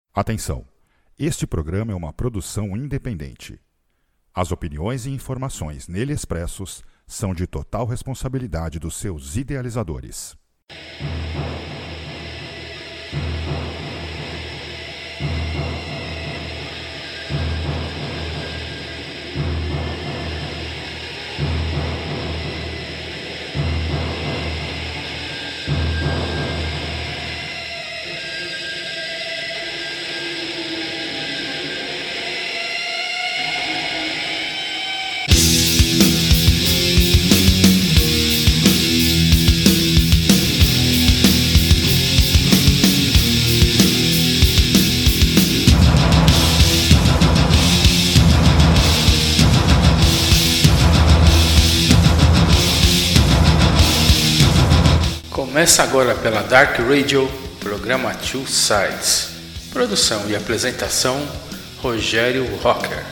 Atenção! Este programa é uma produção independente. As opiniões e informações nele expressos são de total responsabilidade dos seus idealizadores. Começa agora pela Dark Radio, programa Two Sides. Produção e apresentação, Rogério Rocker.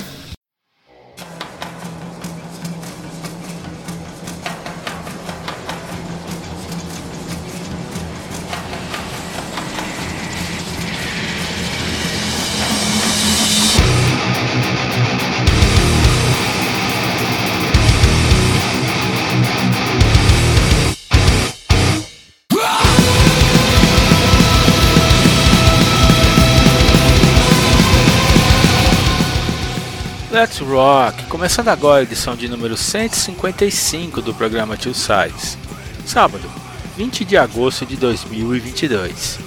Let's Rock! Começando agora a edição de número 155 do programa Two Sides. Sábado, 20 de agosto de 2022.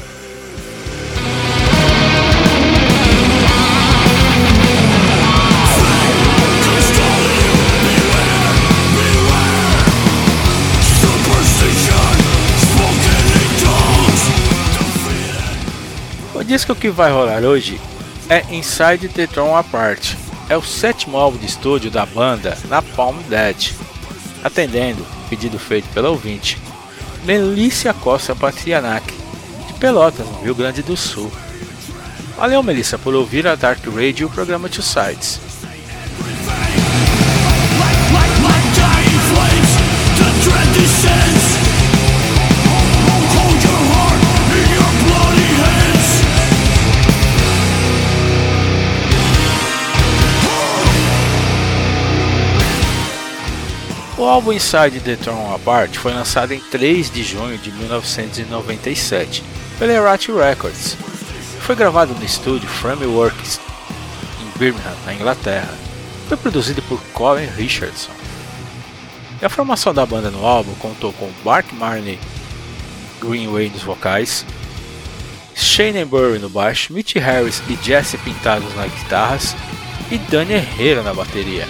O disco que vai rolar hoje é Inside the Thrown Apart. É o sétimo álbum de estúdio da banda Napalm Death, atendendo o pedido feito pela ouvinte Melícia Costa Patrianac, de Pelotas, no Rio Grande do Sul. Valeu, Melissa, por ouvir a Dark Radio e o programa Two Sides. O álbum Inside the Thrown Apart foi lançado em 3 de junho de 1997 pela Errati Records. Foi gravado no estúdio Frameworks em Birmingham, na Inglaterra. Foi produzido por Colin Richardson. E a formação da banda no álbum contou com Mark Marney Greenway nos vocais, Shane Burry no baixo, Mitch Harris e Jesse Pintados nas guitarras e Danny Herrera na bateria.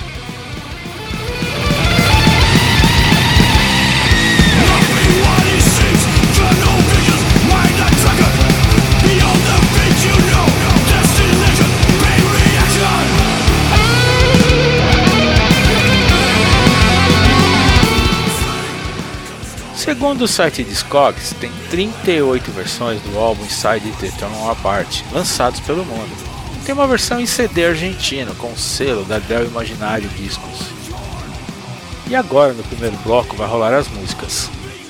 Segundo o site Discogs, tem 38 versões do álbum Inside the Thrown Apart lançados pelo mundo. Tem uma versão em CD argentino com o selo da Del Imaginário Discos. E agora, no primeiro bloco, vai rolar as músicas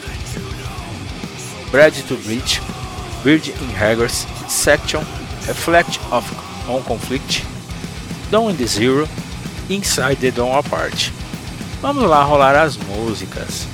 Bread to Breach, Bird in Haggers, Section, Reflect on Conflict, Down in the Zero e Inside the Thrown Apart. Vamos lá rolar as músicas.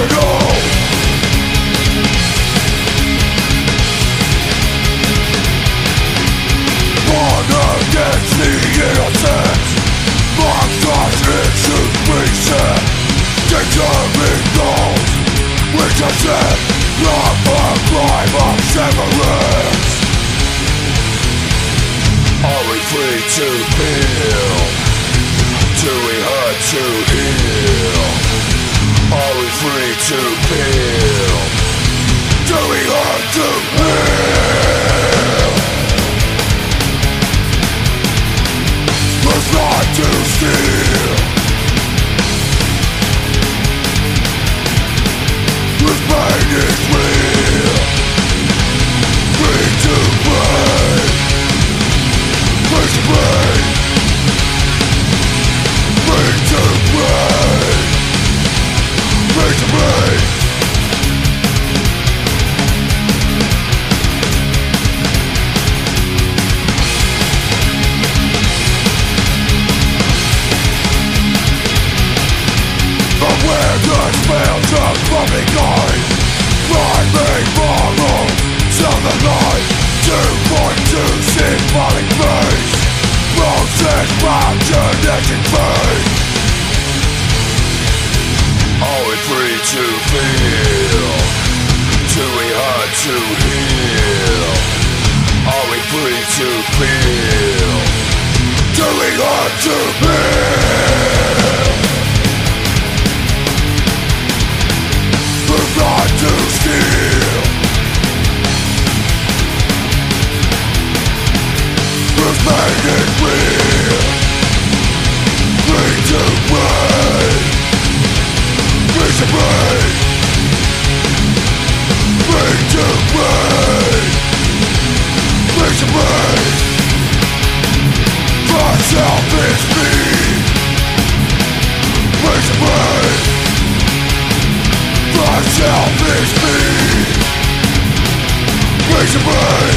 irrational. Born against the innocent, monsters into reset, determined goals, which are set, not the crime of severance. Are we free to feel? Do we hurt to heal? Are we free to feel? Do we hurt to heal? Let's not to steal. This pain is real. Free to play. Free to play. Free to play. Free to play. But where good fails us from behind, climbing follow to the light, 2.2 symbolic face, process imagination face. Are we free to feel? Do we hurt to heal? Are we free to feel? Do we hurt to feel? We're not to steal. This pain is real. Free to play. Free to play. Free to play. Free to play. For selfish me. Free to play. For selfish me. Free to play.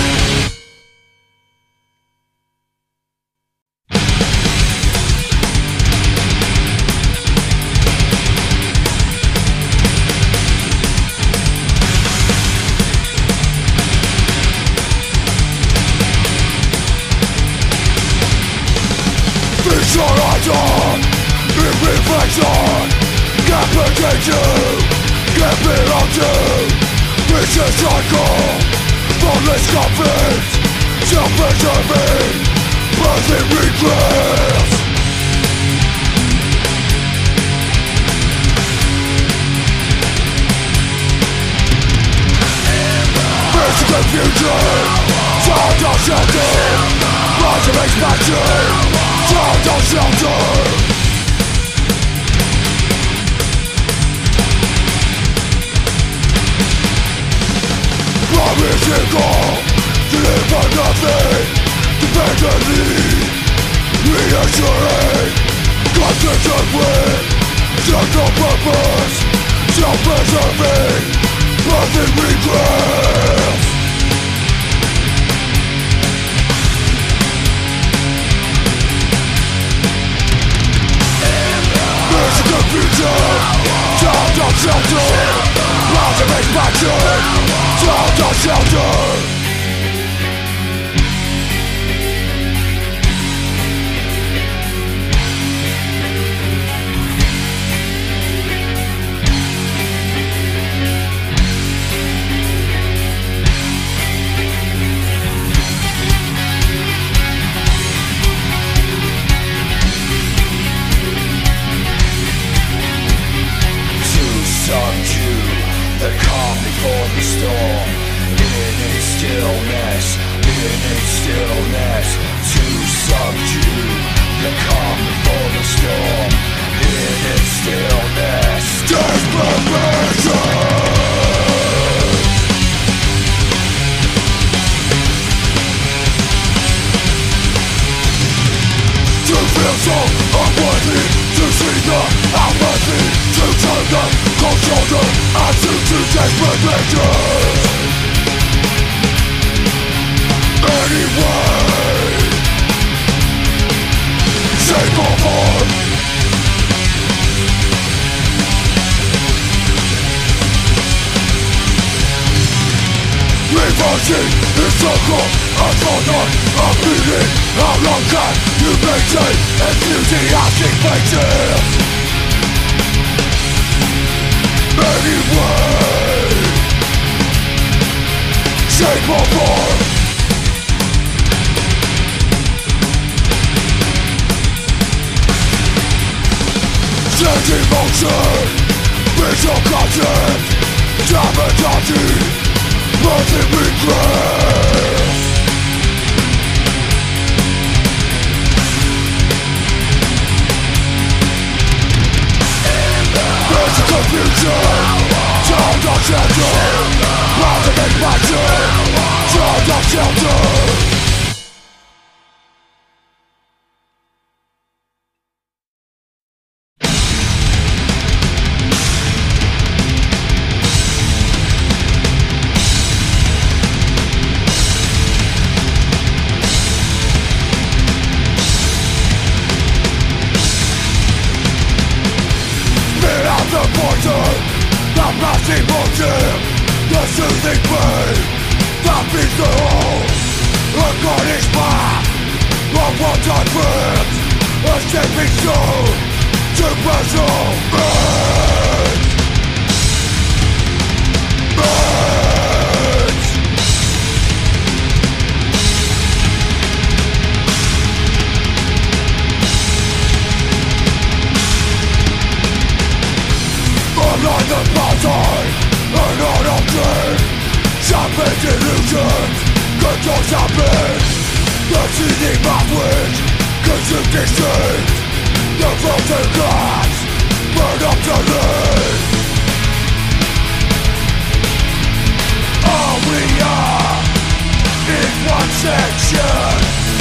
Visualization, in reflection, can't protect you, can't belong to. It's a cycle, thoughtless conflict, self-preserving, birthing regrets. It's confusion, sound of shelter, rise of expansion, sound of shelter. Promising all, deliver nothing, dependently, reassuring, constant with, central purpose, self-preserving, birthing regrets. There's confusion, sound of shelter, rise of expansion, sound of shelter. The calm before the storm, in its stillness, to subdue. The calm before the storm, in its stillness, desperation. To feel so unworthy, to see the apathy, to turn the cold shoulder, and to desperate measures. Anyway, shape or form, Marching in circle, a thought, a beating. How long can you maintain enthusiastic faces? Anyway, shape or form, changing motion, visual content, sabotage, birthing regret. There's a confusion, child of shelter, ultimate passion, child of shelter. The passing motive, the soothing pain, that beats the hole. A Cornish path of one-time ribs, a stepping stone to personal ends. Like the outside, an art of dream, sharpened illusions, controls habits. The seething mouthways, consumed distinct. The frozen glass, burn up to lead. All we are is one section,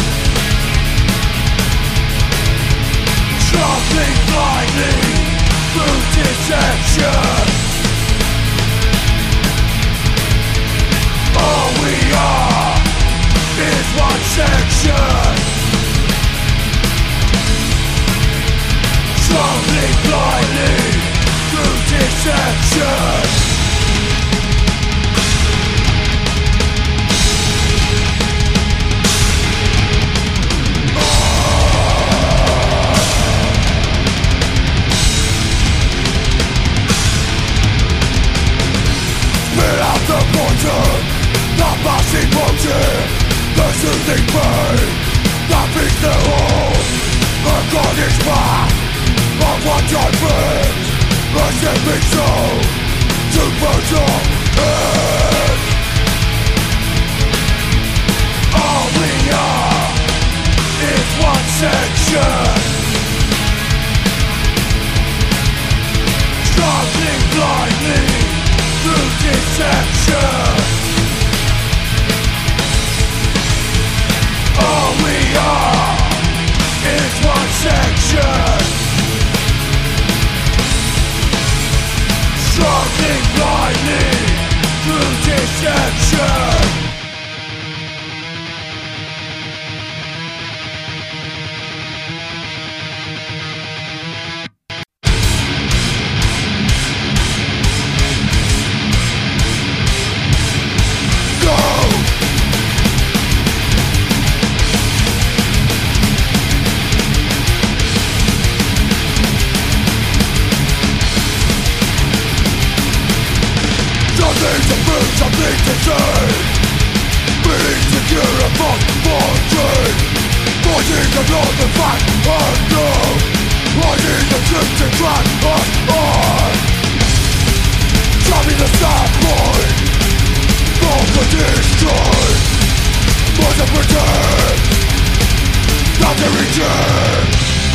struggling blindly through deception. All we are is one section, struggling blindly through deception. The poison, the passing motive, the soothing pain, that beats the hole. A Cornish path of one-time ribs, a stepping stone to personal ends. All we are is one section, struggling blindly through deception. All we are is one section, struggling blindly through deception. Something to say, being secure upon fortune, voicing the north and fact unknown, writing the truth to drag us on, driving the start point, all to destroy, was a pretend, not to return.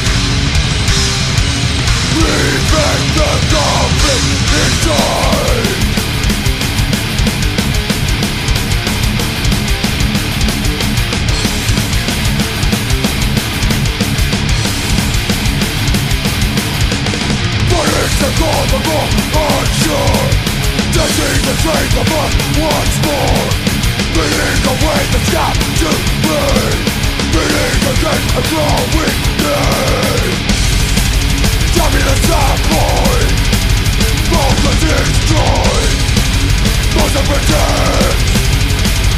Revenge the conflict inside. The cause of all unsure, testing the strength of us once more, beating away the scab to burn, beating against a growing day, driving the sad point, both to destroy, most of pretend,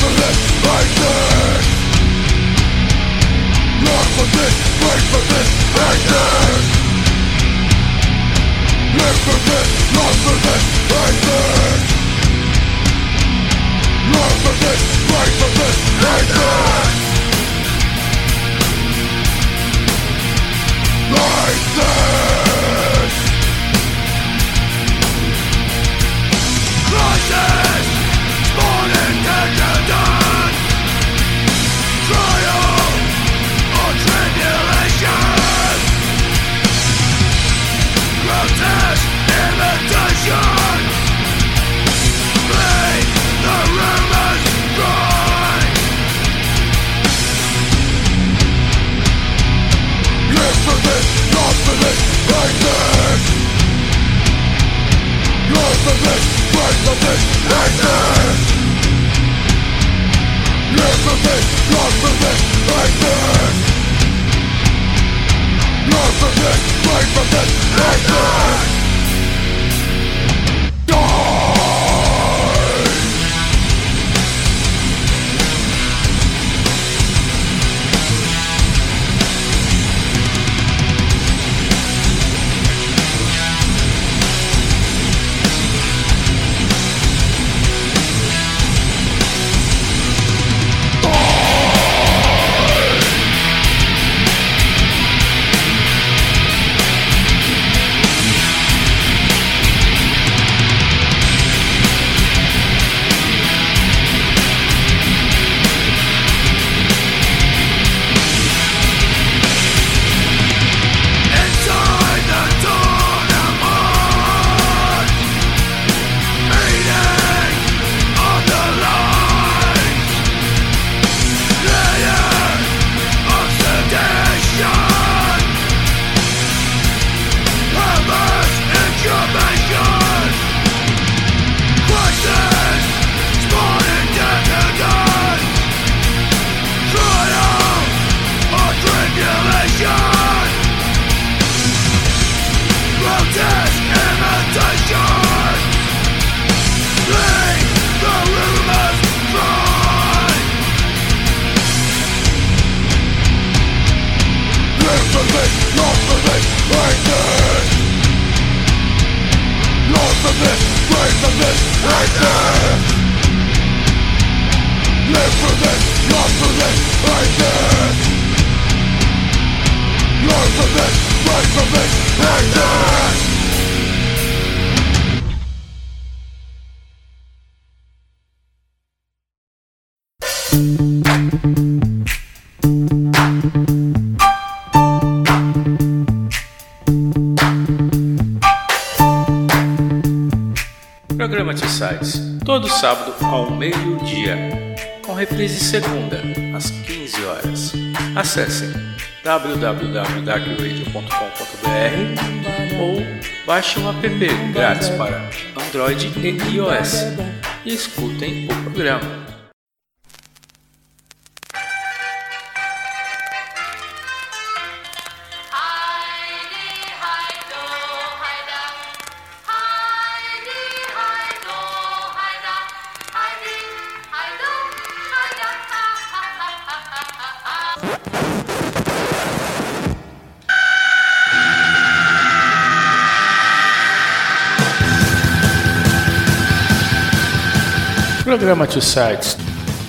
Programa Two Sides, todo sábado ao meio-dia, com reprise segunda, às 15 horas. Acessem www.darkradio.com.br ou baixem um app grátis para Android e iOS e escutem o programa. Programa Two Sides.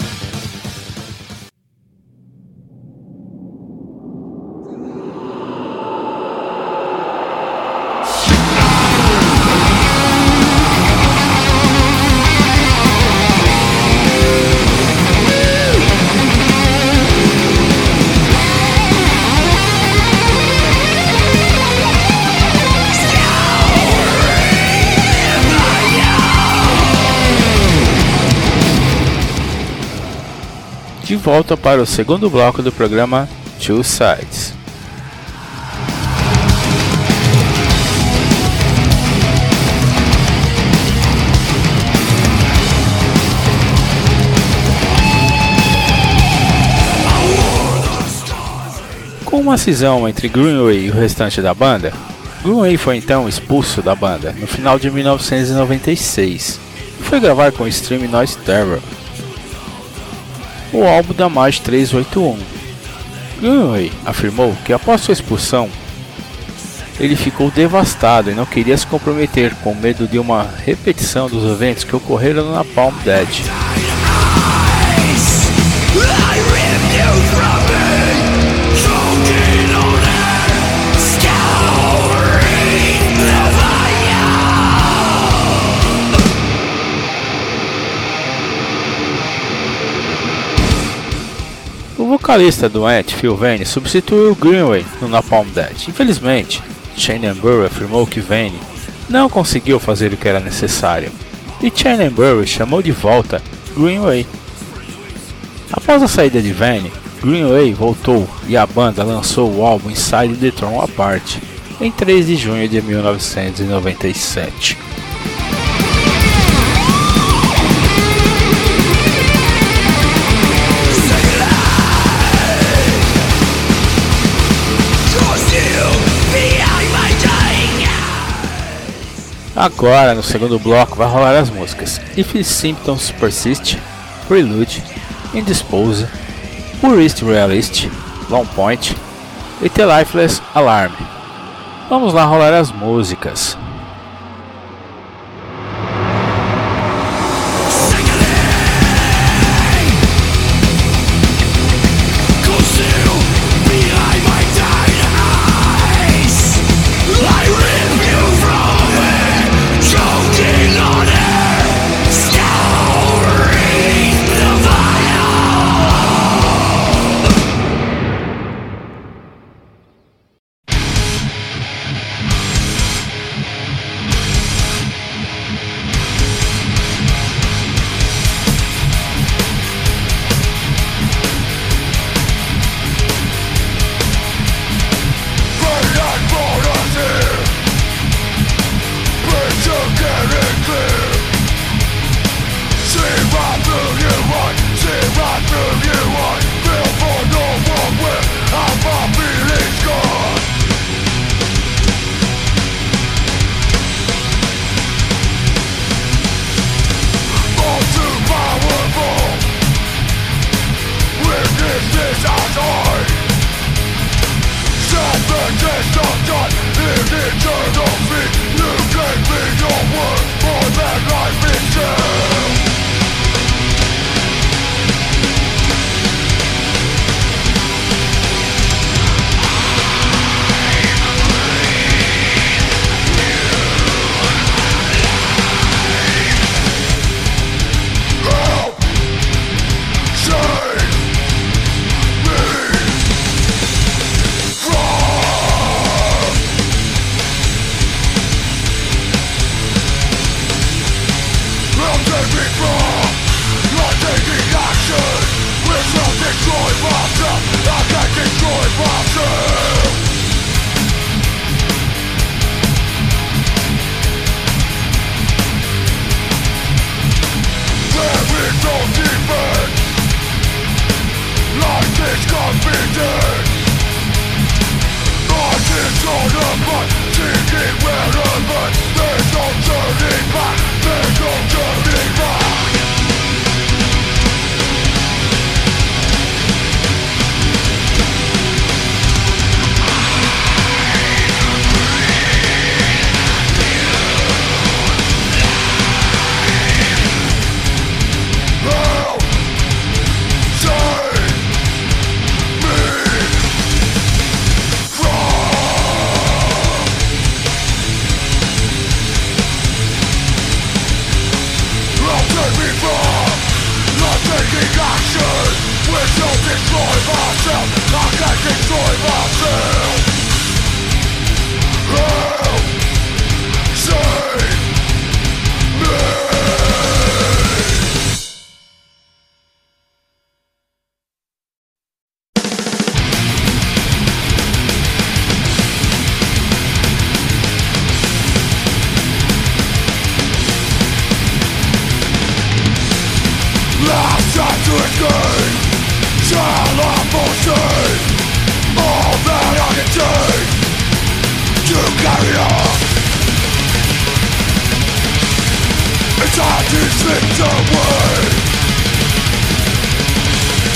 De volta para o segundo bloco do programa Two Sides. Com uma cisão entre Greenway e o restante da banda, Greenway foi então expulso da banda no final de 1996 e foi gravar com o Extreme Noise Terror. o álbum da March 381. Greenway afirmou que após sua expulsão, ele ficou devastado e não queria se comprometer, com medo de uma repetição dos eventos que ocorreram no Napalm Death. O vocalista do Ant, Phil Vane, substituiu Greenway no Napalm Death. Infelizmente, Shane Burry afirmou que Vane não conseguiu fazer o que era necessário, e Shane Burry chamou de volta Greenway. Após a saída de Vane, Greenway voltou e a banda lançou o álbum Inside the Throne Apart em 3 de junho de 1997. Agora, no segundo bloco, vai rolar as músicas If Symptoms Persist, Prelude, Indispose, Purist Realist, Long Point e The Lifeless Alarm. Vamos lá rolar as músicas. Time to slip away.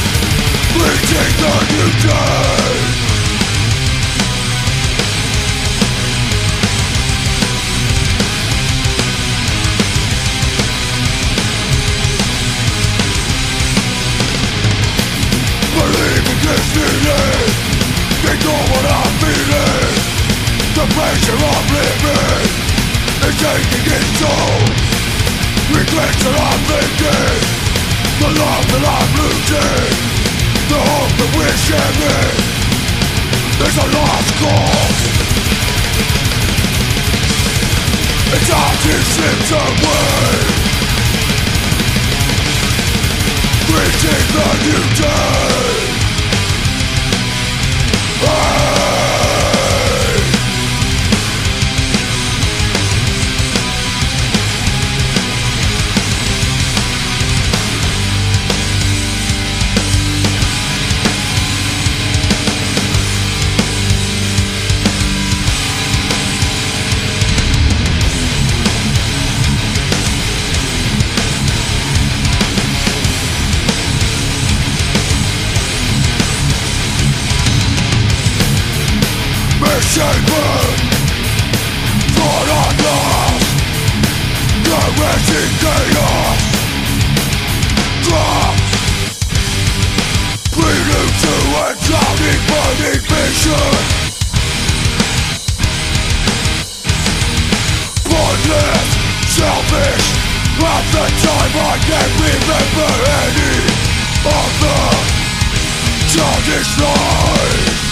taking its toll. Regrets that I'm thinking, the love that I'm losing, the hope that we're sharing is a lost cause. It's hard to slip away, greeting the new day. Shaper, thought I'm lost, caressing chaos, drops, prelude to a drowning burning vision, pointless, selfish, at the time I can't remember any of the childish lies.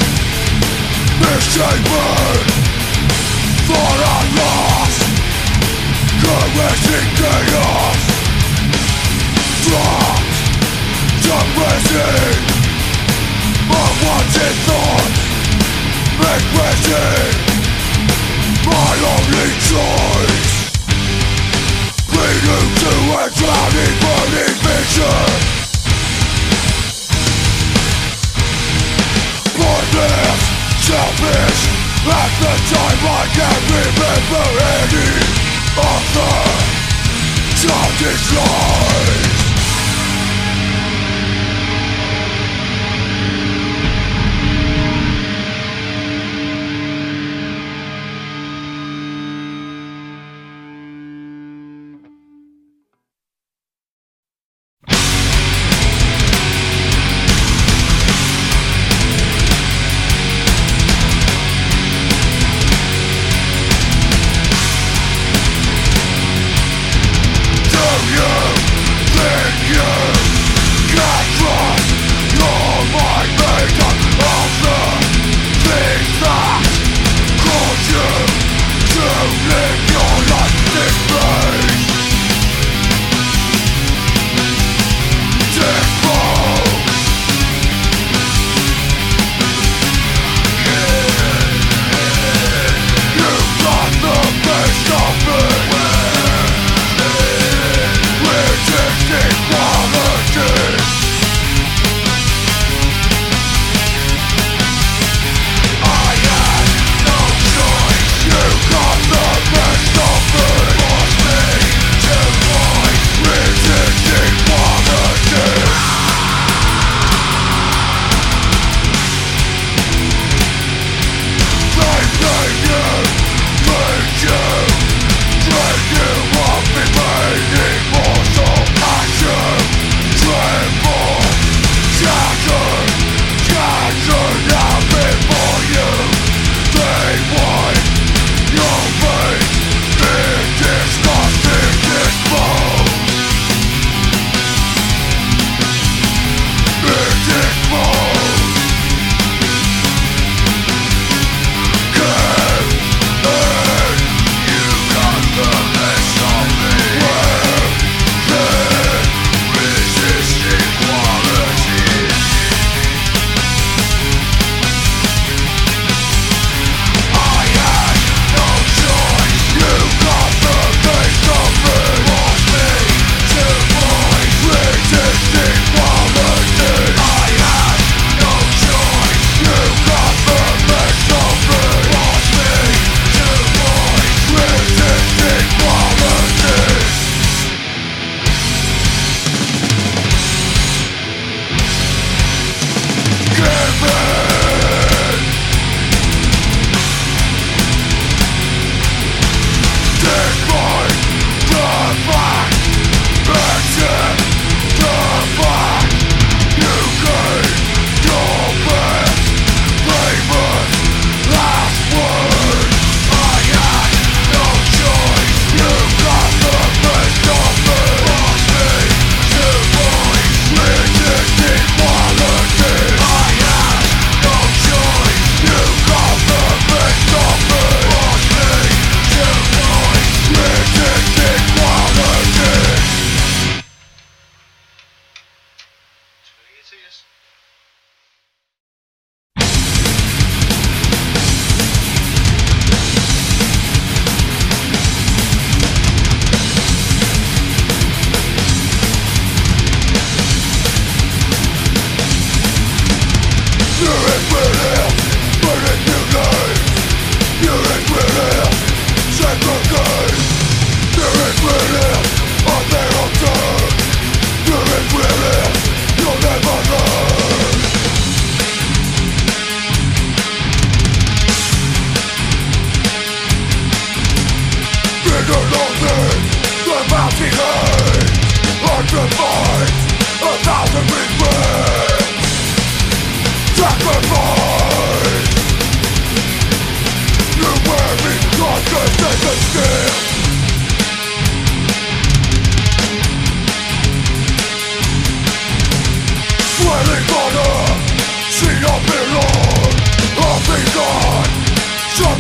Misshapen, thought I'm lost, caressing chaos, dropped, suppressing unwanted thoughts, regretting my only choice. Prelude to a drowning burning vision, pointless, selfish, at the time I can't remember any of the childish lies. You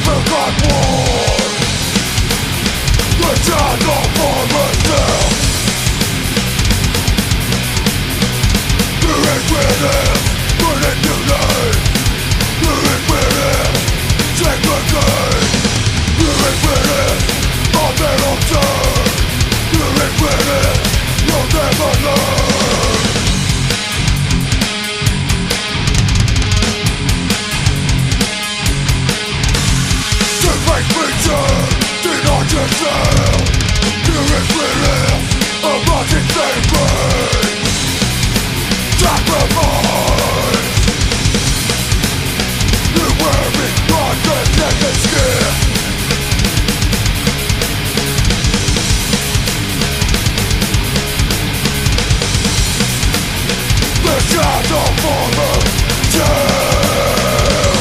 forgot war. The shadow forward still. The inquisitive, put it to life. The inquisitive, take the game. The inquisitive, of their own turn. The inquisitive, you'll never learn. The fake preacher, deny yourself. The inquisitive, about its same brain. Sacrifice. You wear me on the naked skin. The shadow for the dead.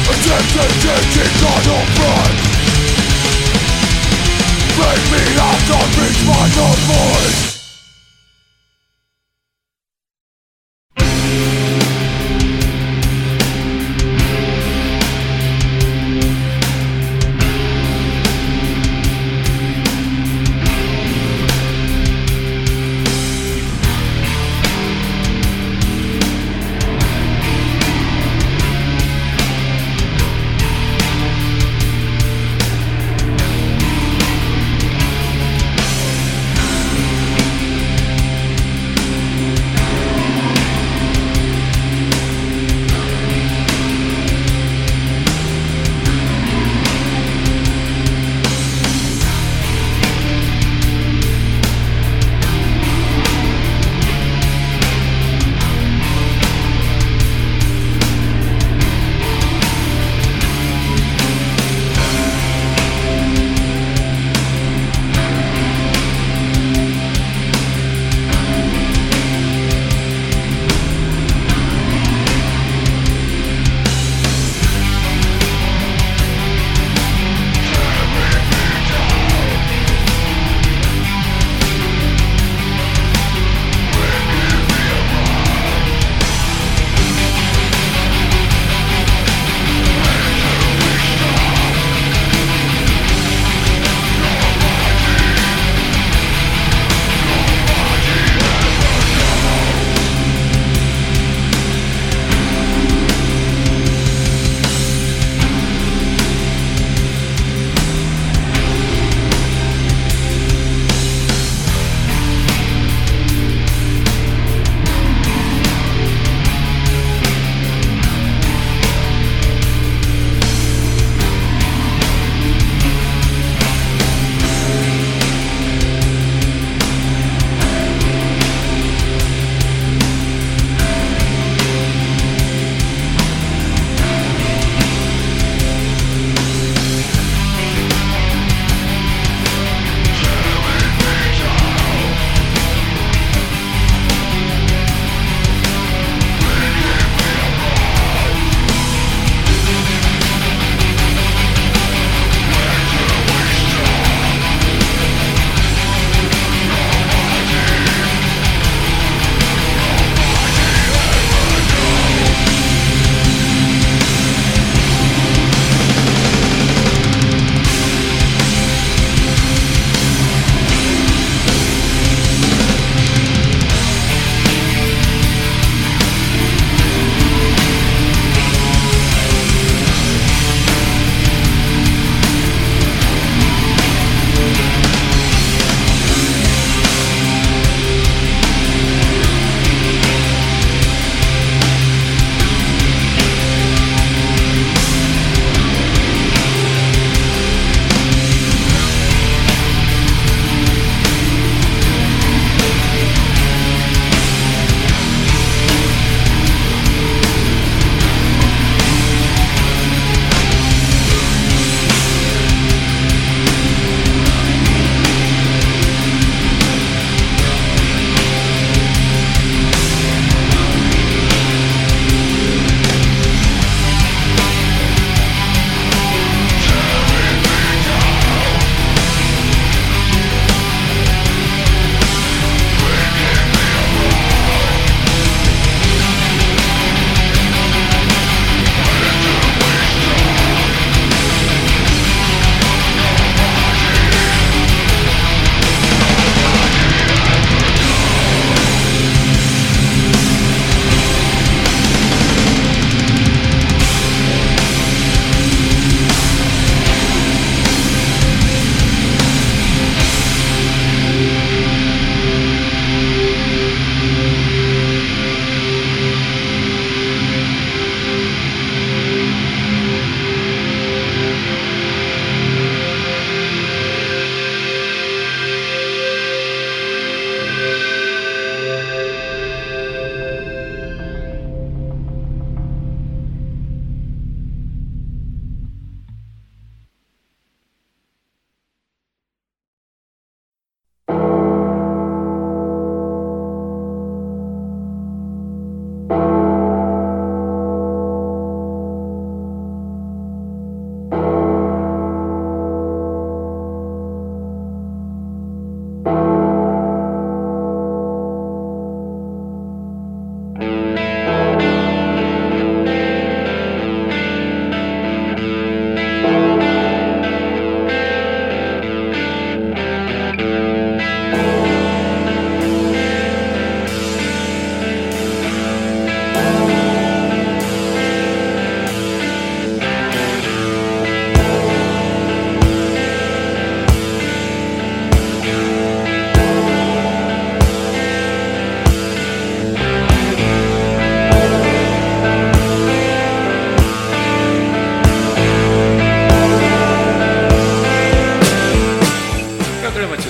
Attempted taking on a front. Break me out, don't reach my own voice.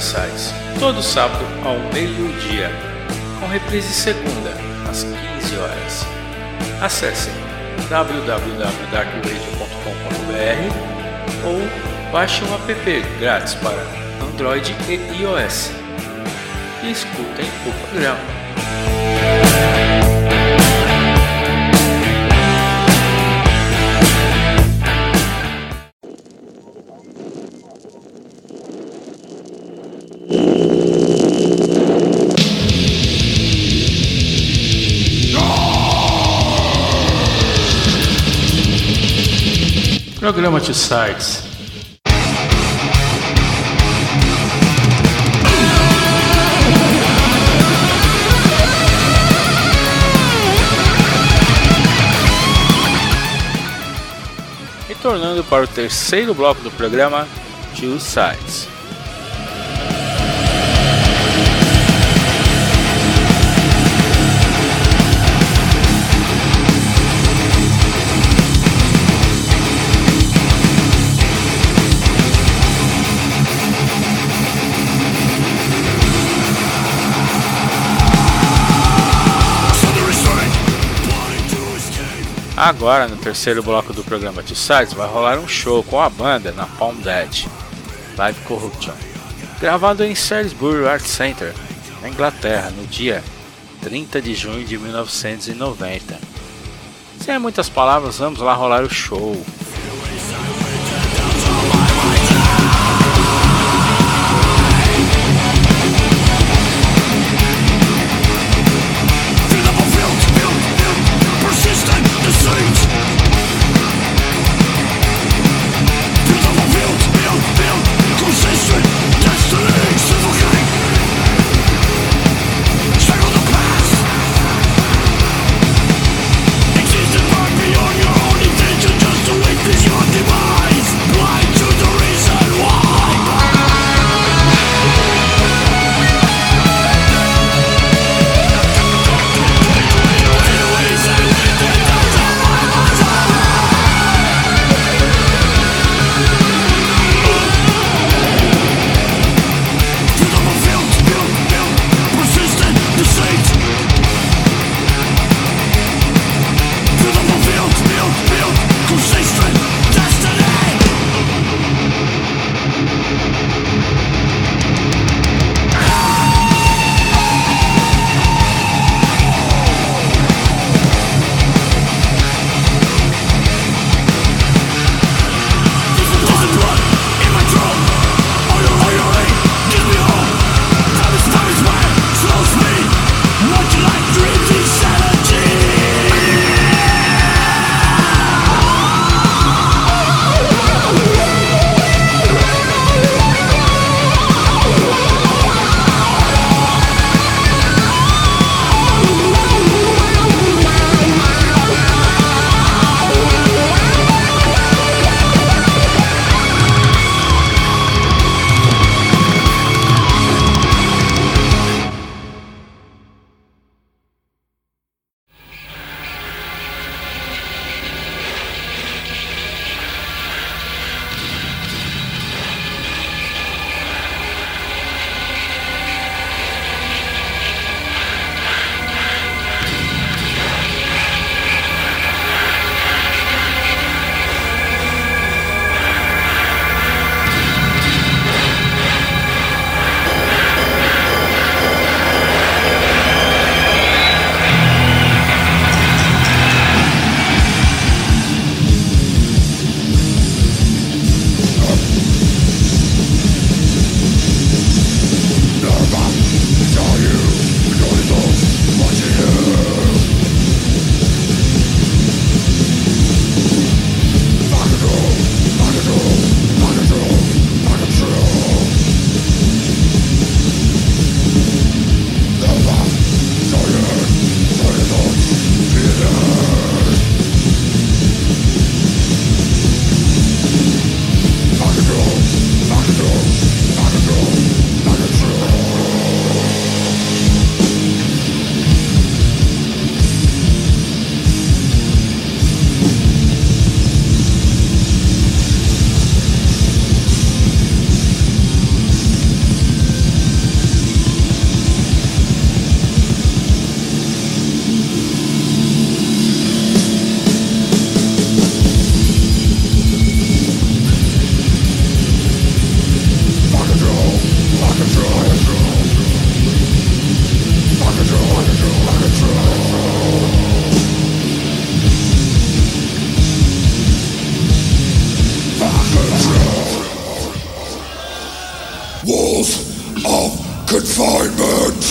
Sides, todo sábado ao meio-dia, com reprise segunda, às 15 horas. Acesse www.darkradio.com.br ou baixe um app grátis para Android e iOS e escutem o programa. Programa Two Sides. Retornando para o terceiro bloco do programa Two Sides. Agora, no terceiro bloco do programa Two Sides, vai rolar um show com a banda Napalm Death, Live Corruption, gravado em Salisbury Arts Centre, na Inglaterra, no dia 30 de junho de 1990. Sem muitas palavras, vamos lá rolar o show. Beyond your own intention, just to wait. of confinement.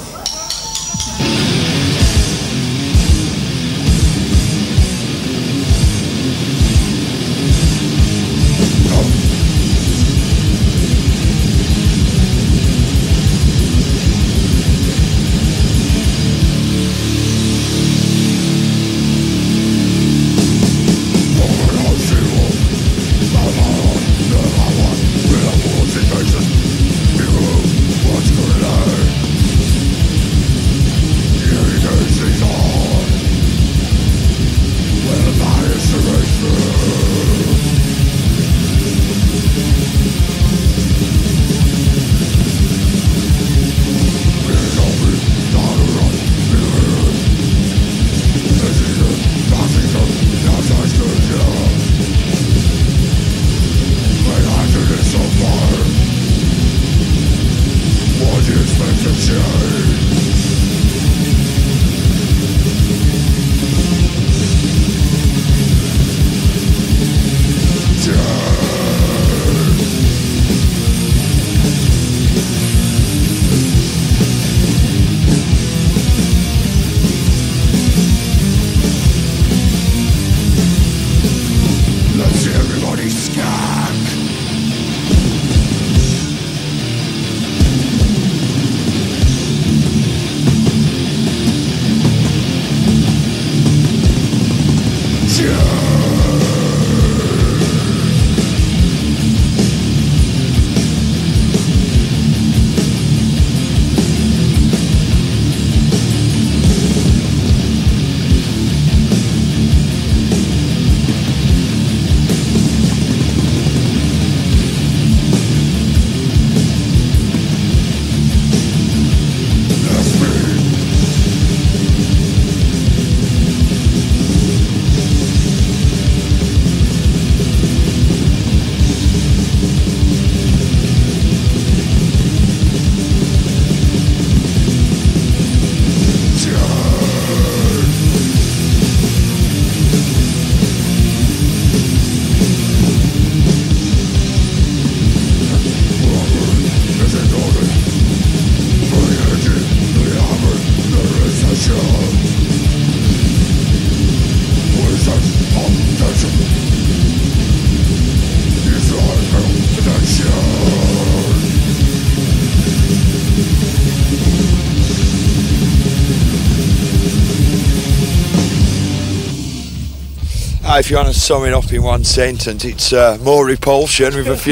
If you want to sum it up in one sentence, it's more repulsion with a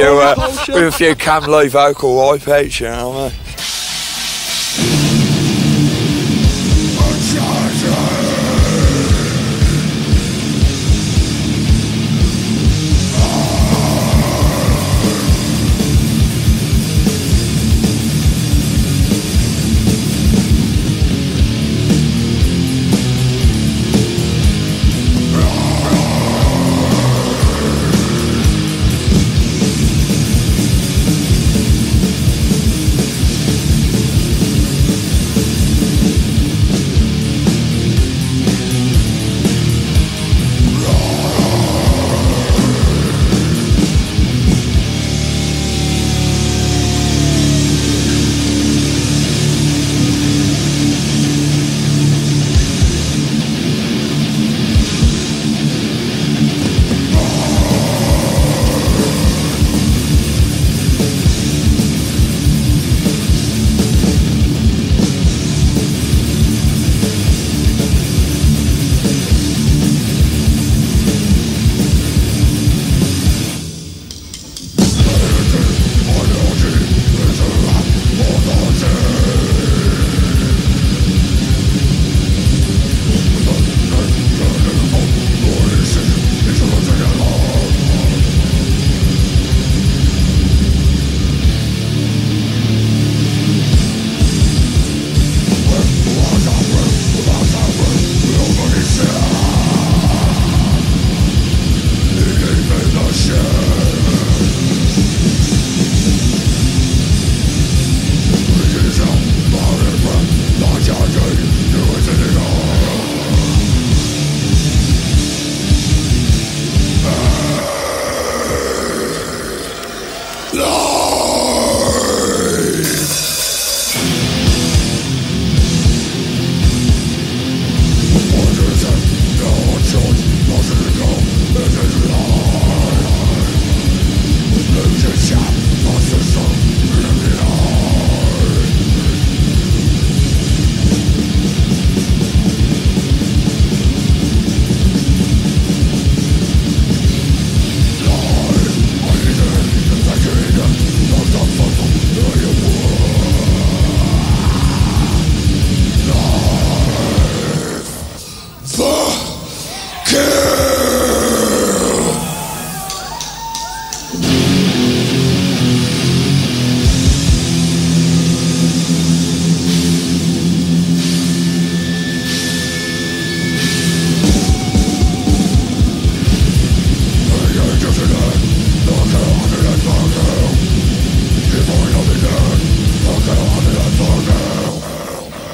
few Cam Lee vocal wipeouts, you know what I mean?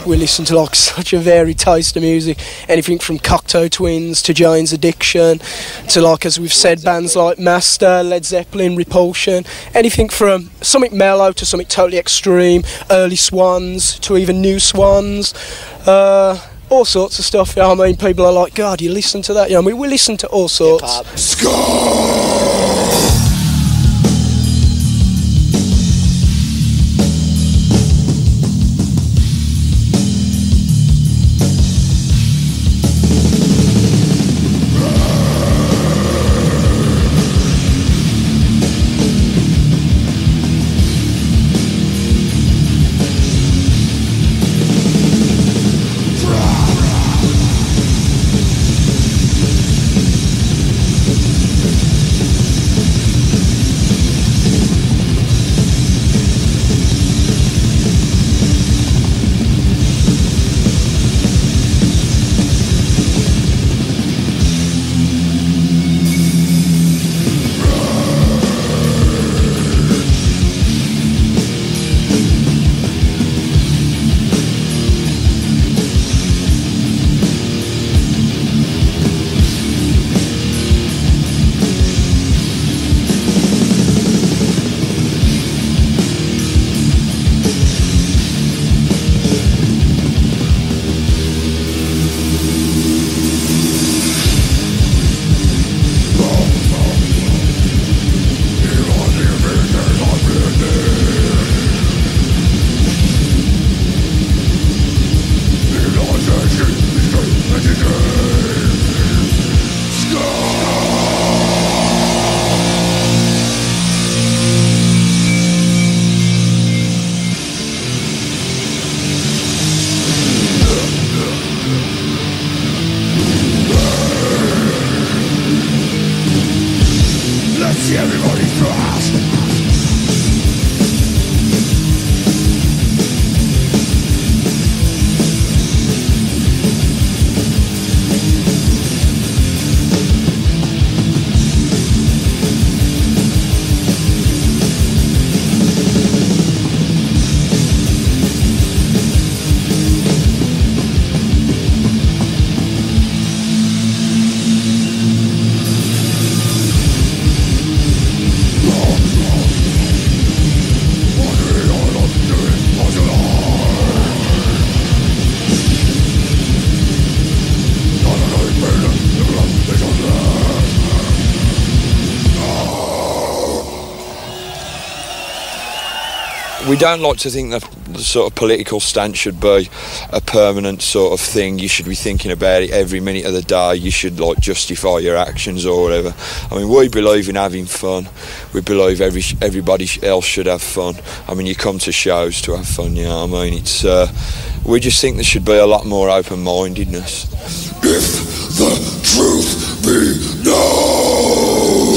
we listen to like such a varied taste of music. Anything from Cocteau Twins to Jane's Addiction to, like as we've said, bands like Master, Led Zeppelin, Repulsion. Anything from something mellow to something totally extreme, early Swans to even new Swans. All sorts of stuff. You know what I mean? People are like, God, you listen to that? You know, we listen to all sorts. We don't like to think that the sort of political stance should be a permanent sort of thing. You should be thinking about it every minute of the day. You should like justify your actions or whatever. I mean, we believe in having fun. We believe everybody else should have fun. I mean, you come to shows to have fun, you know what I mean? It's we just think there should be a lot more open-mindedness. If the truth be known.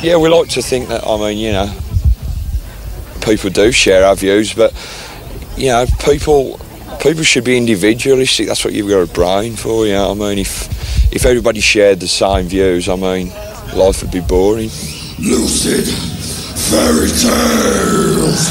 Yeah, we like to think that, I mean, you know, people do share our views, but, you know, people should be individualistic. That's what you've got a brain for, you know what I mean? If everybody shared the same views, I mean, life would be boring. Lucid fairy tales.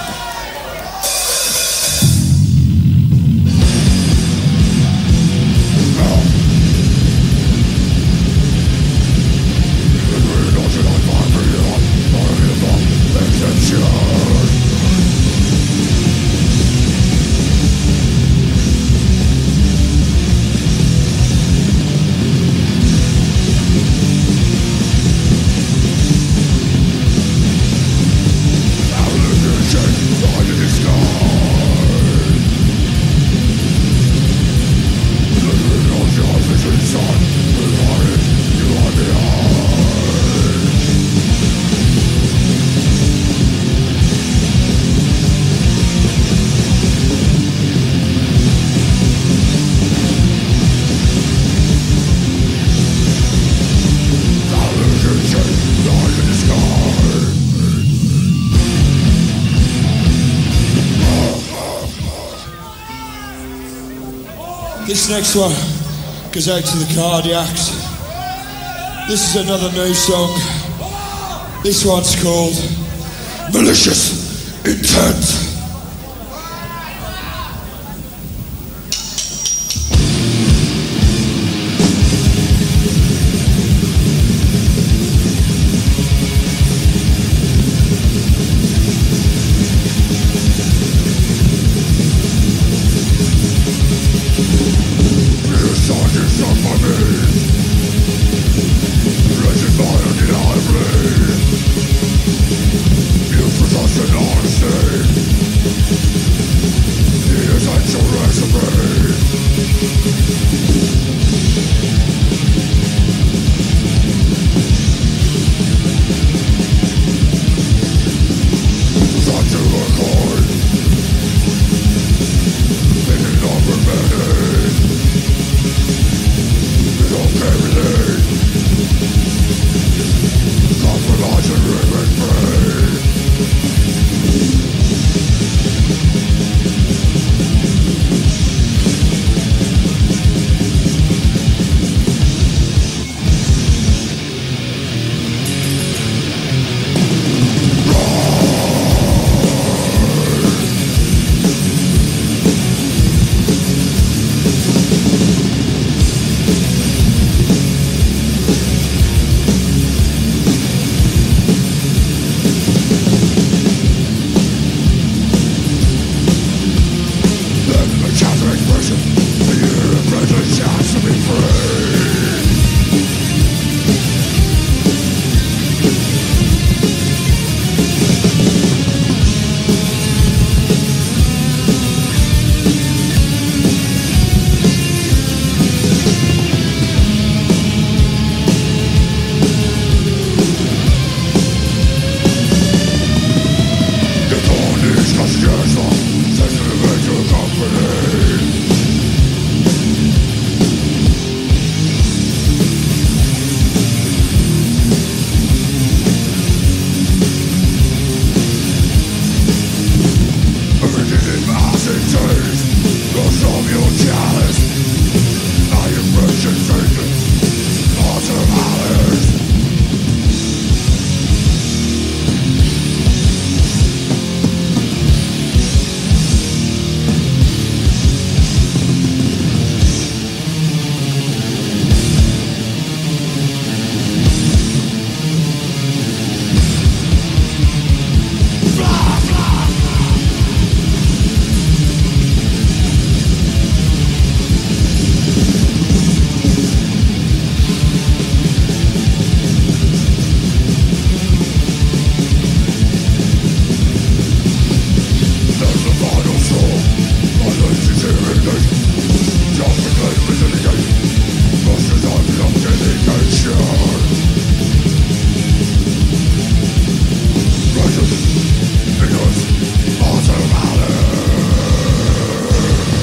This next one goes out to the Cardiacs. This is another new song. This one's called Malicious Intent.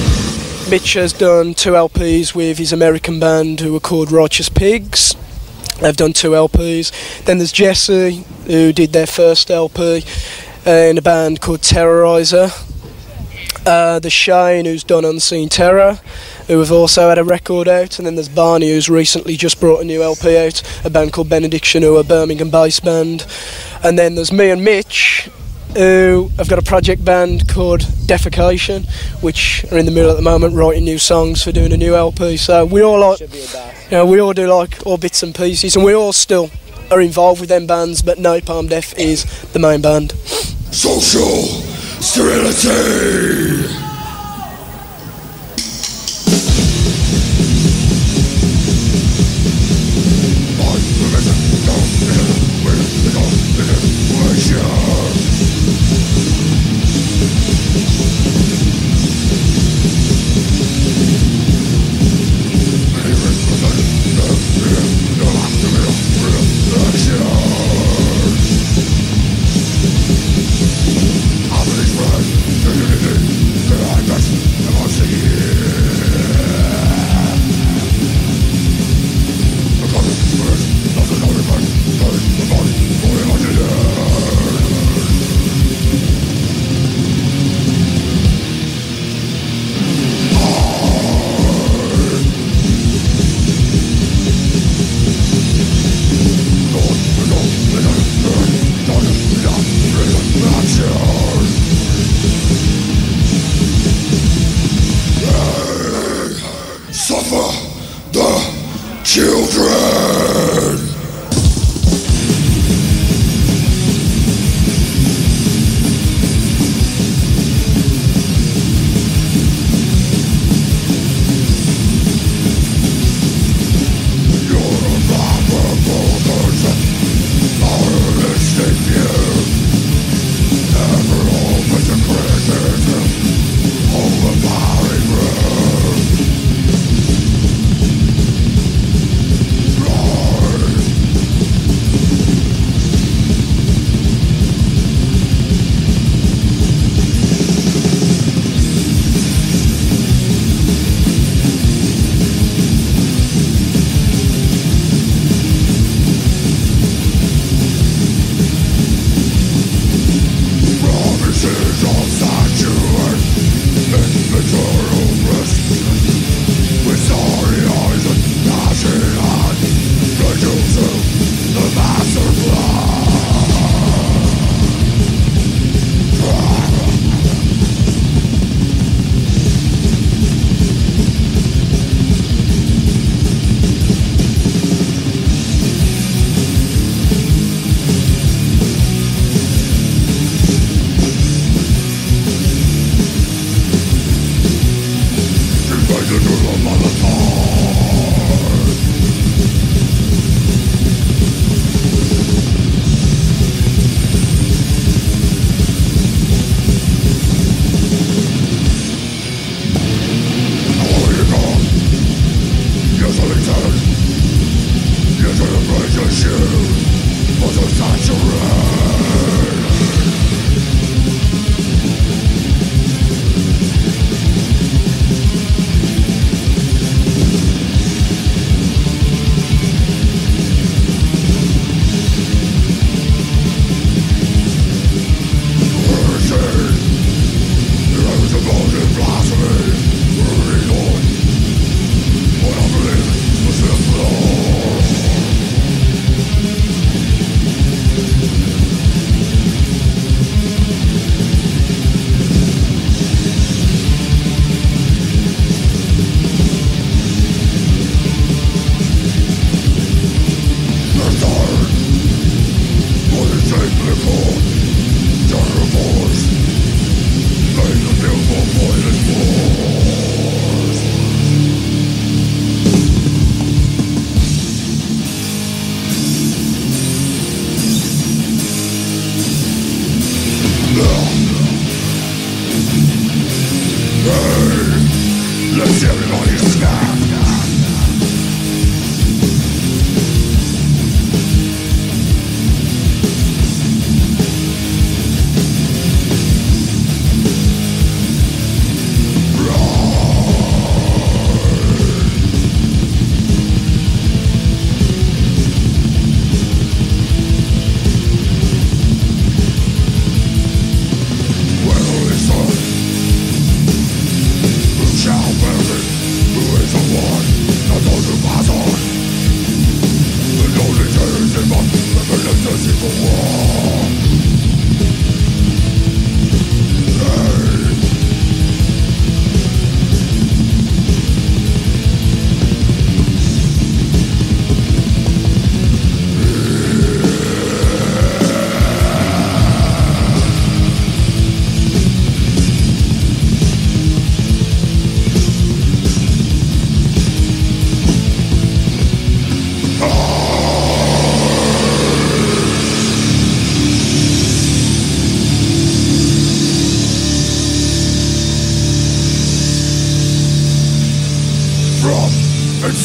Mitch has done 2 LPs with his American band who were called Righteous Pigs. They've done 2 LPs. Then there's Jesse, who did their first LP in a band called Terrorizer. There's Shane, who's done Unseen Terror, who have also had a record out. And then there's Barney, who's recently just brought a new LP out, a band called Benediction, who are a Birmingham based band. And then there's me and Mitch, who have got a project band called Defecation, which are in the middle at the moment writing new songs for doing a new LP. So we all like, we all do like all bits and pieces, and we all still are involved with them bands, but Napalm Death is the main band. Social sterility.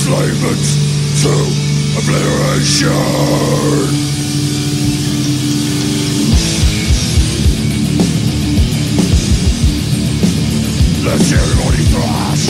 enslavement to obliteration. Let's everybody thrash.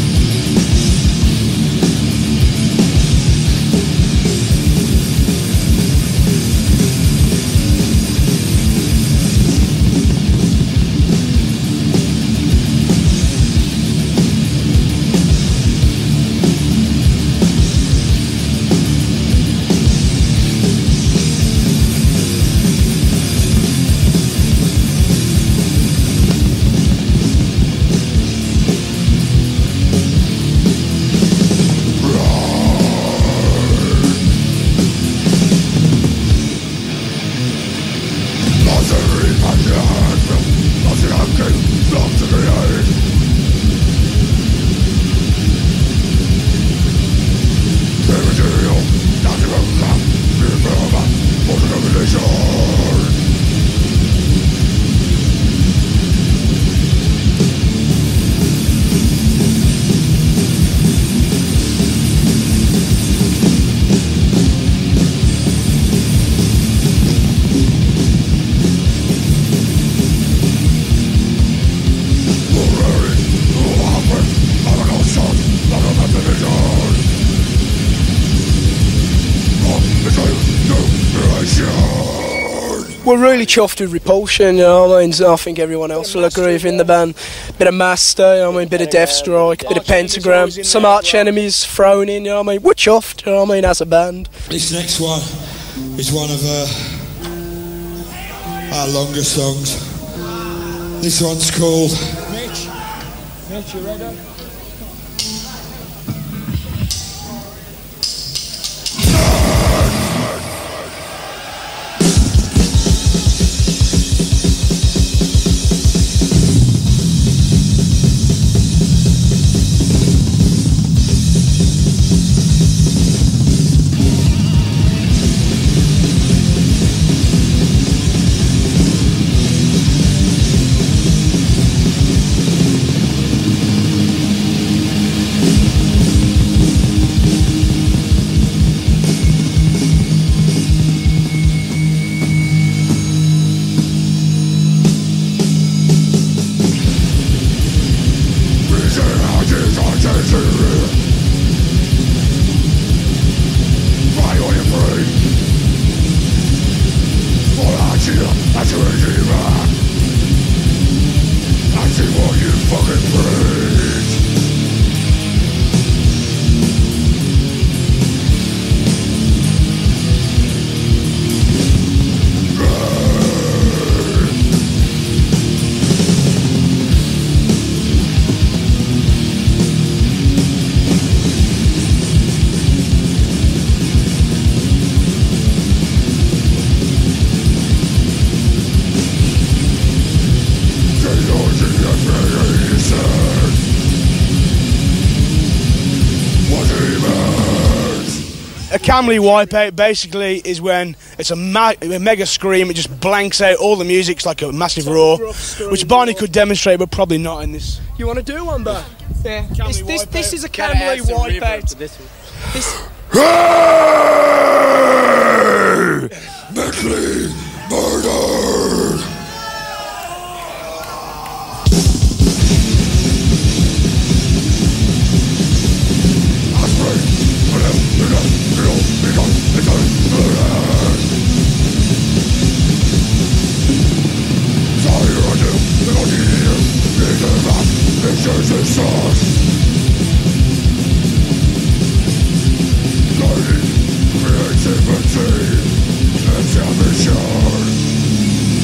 We're really chuffed with Repulsion, you know what I mean? I think everyone else will agree with in the band. Bit of Master, you know what I mean? Bit of Deathstrike, bit of Pentagram, some Arch Enemies thrown in, you know what I mean? We're chuffed, you know what I mean, as a band. This next one is one of our longer songs. This one's called... Mitch, you ready? Camley Wipeout basically is when it's a mega scream, it just blanks out all the music, it's like a massive roar, which Barney could demonstrate but probably not in this. You want to do one, though? Yeah. This is a Camley Wipeout. This. Mentally murdered! Creativity and ambition.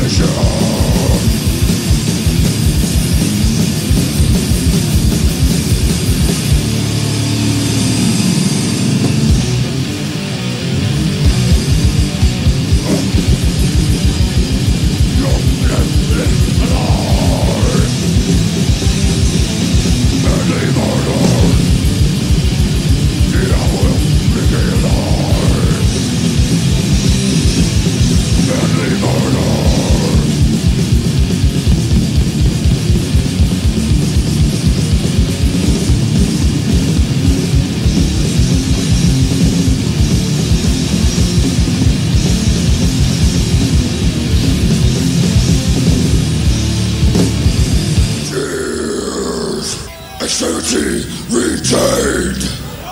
Sanity retained.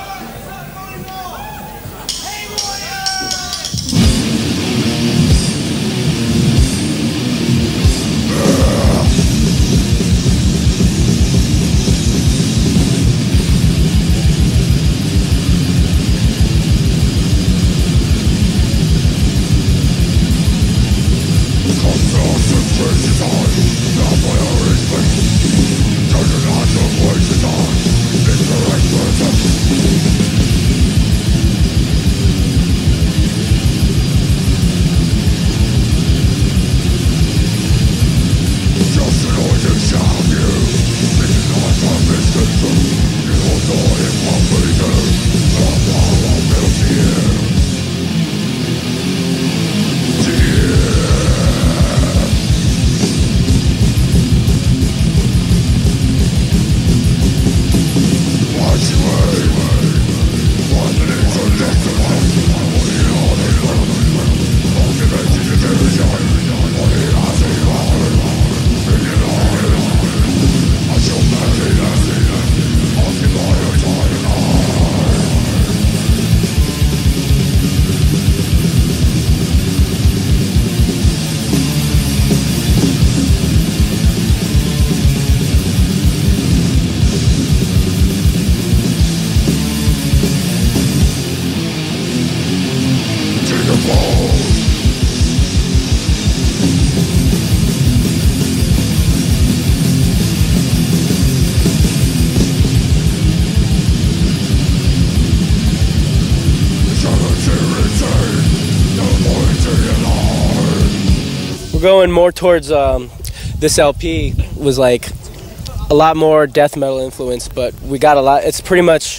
Going more towards this LP was like a lot more death metal influence, but we got a lot. It's pretty much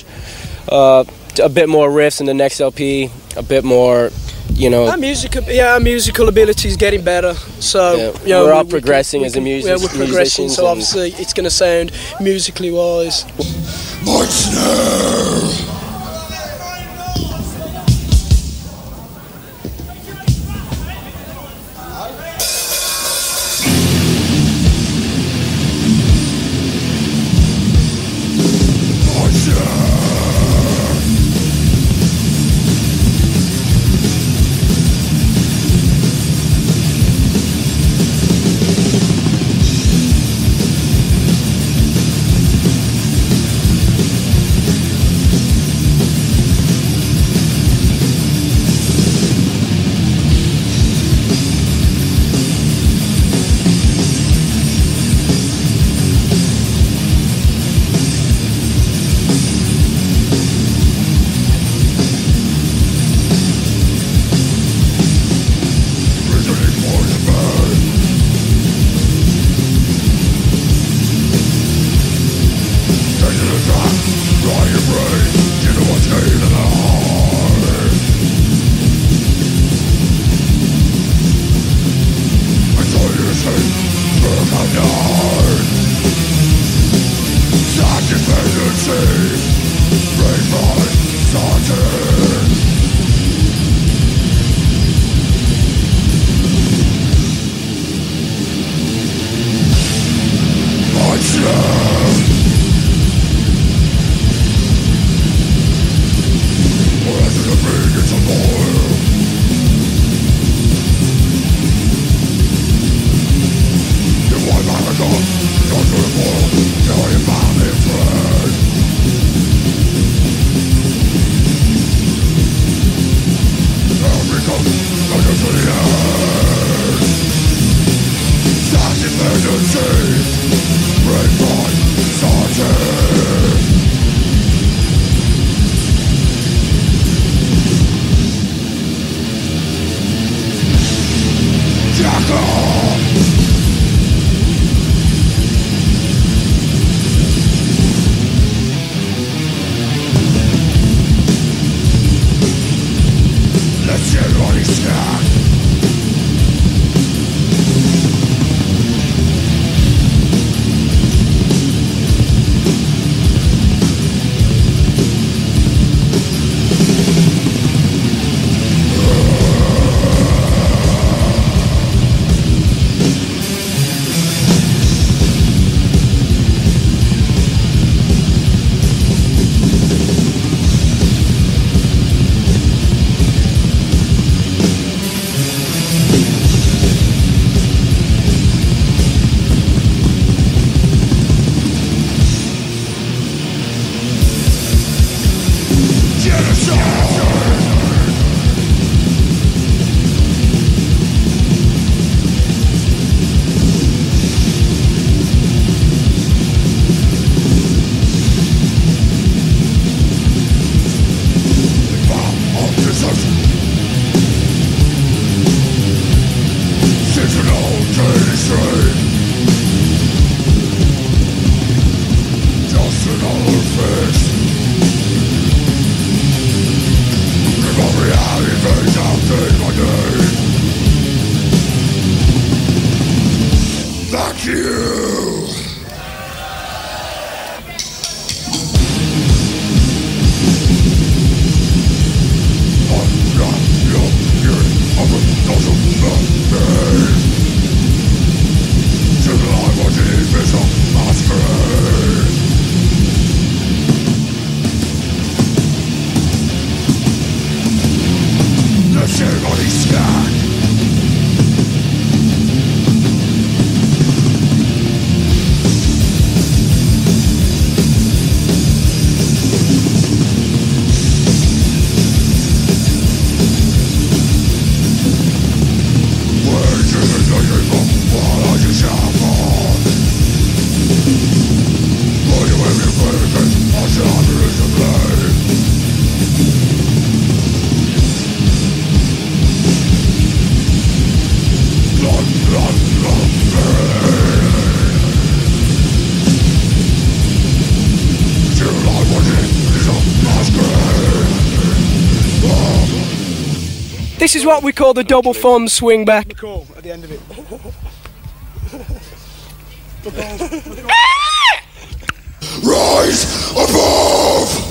a bit more riffs in the next LP, a bit more, you know. Our musical ability is getting better. So yeah, we're all progressing as a musician. Yeah, we're progressing. So obviously, it's going to sound musically wise. What's new? Go Thank you. This is what we call the double thumb swing back. At the end of it. Rise above!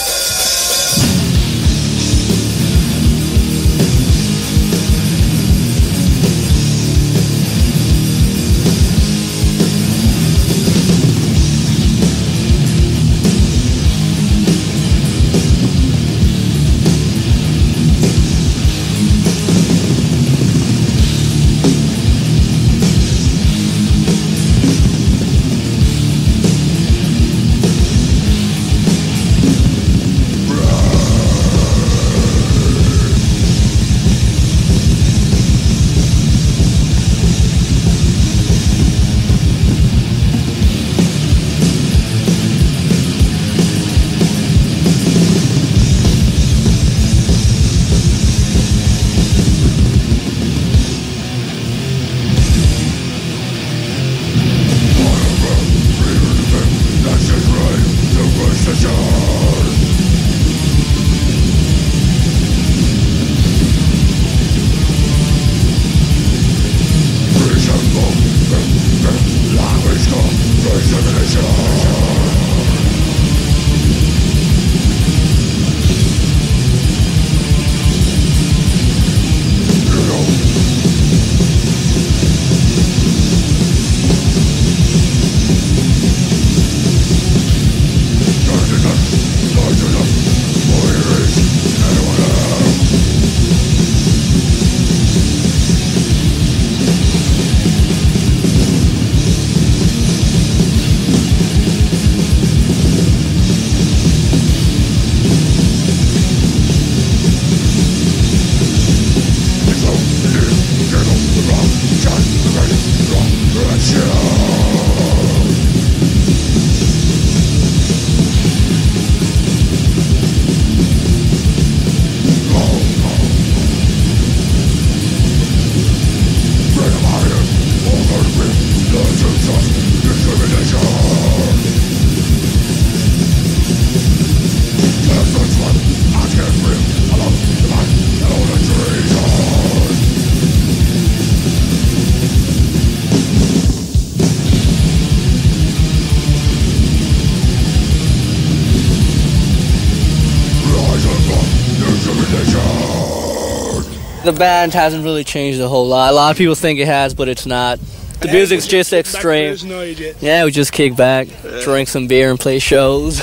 The band hasn't really changed a whole lot. A lot of people think it has, but it's not. The music's just extreme. Yeah, we just kick back, drink some beer, and play shows.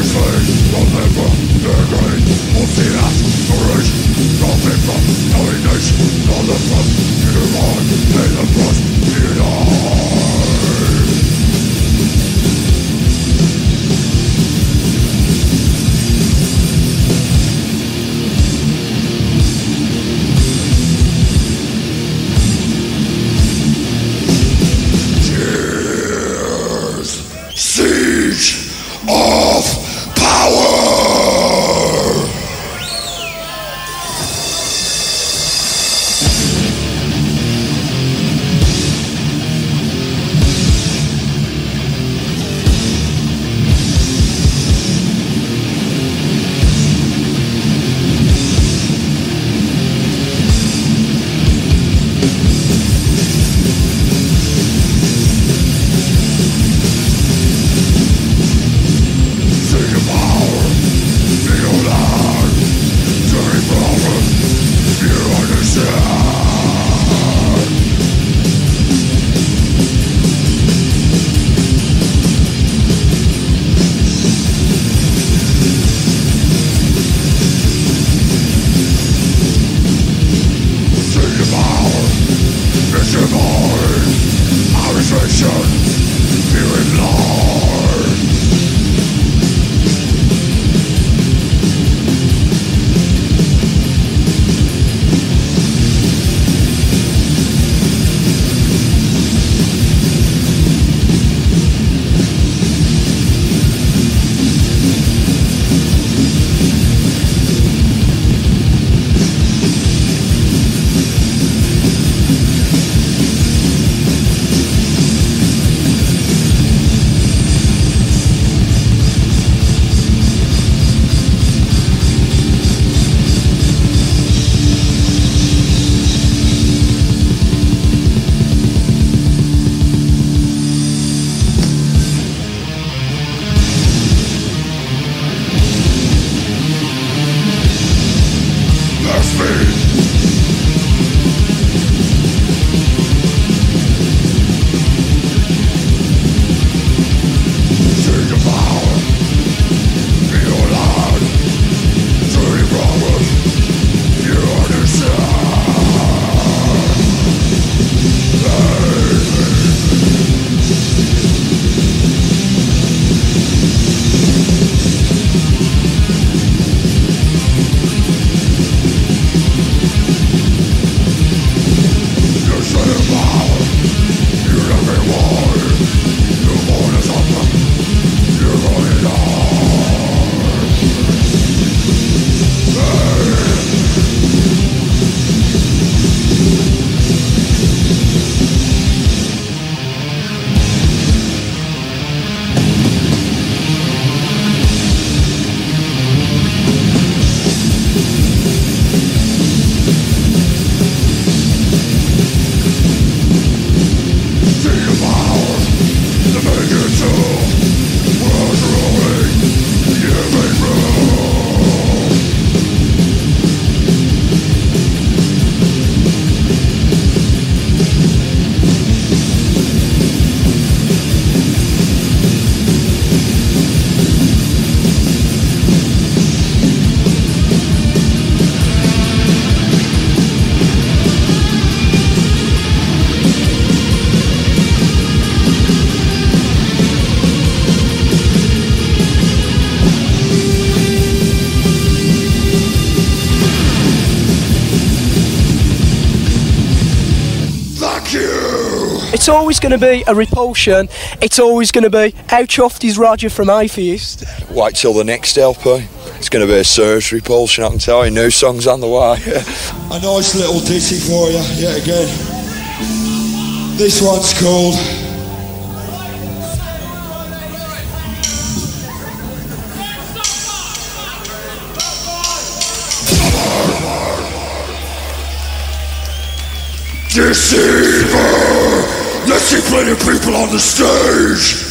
It's always going to be a Repulsion. It's always going to be how chuffed is Roger from Atheist. Wait till the next LP. It's going to be a Surge Repulsion, I can tell you. New songs on the way. A nice little ditty for you, yet again. This one's called Deceiver! Let's see plenty of people on the stage!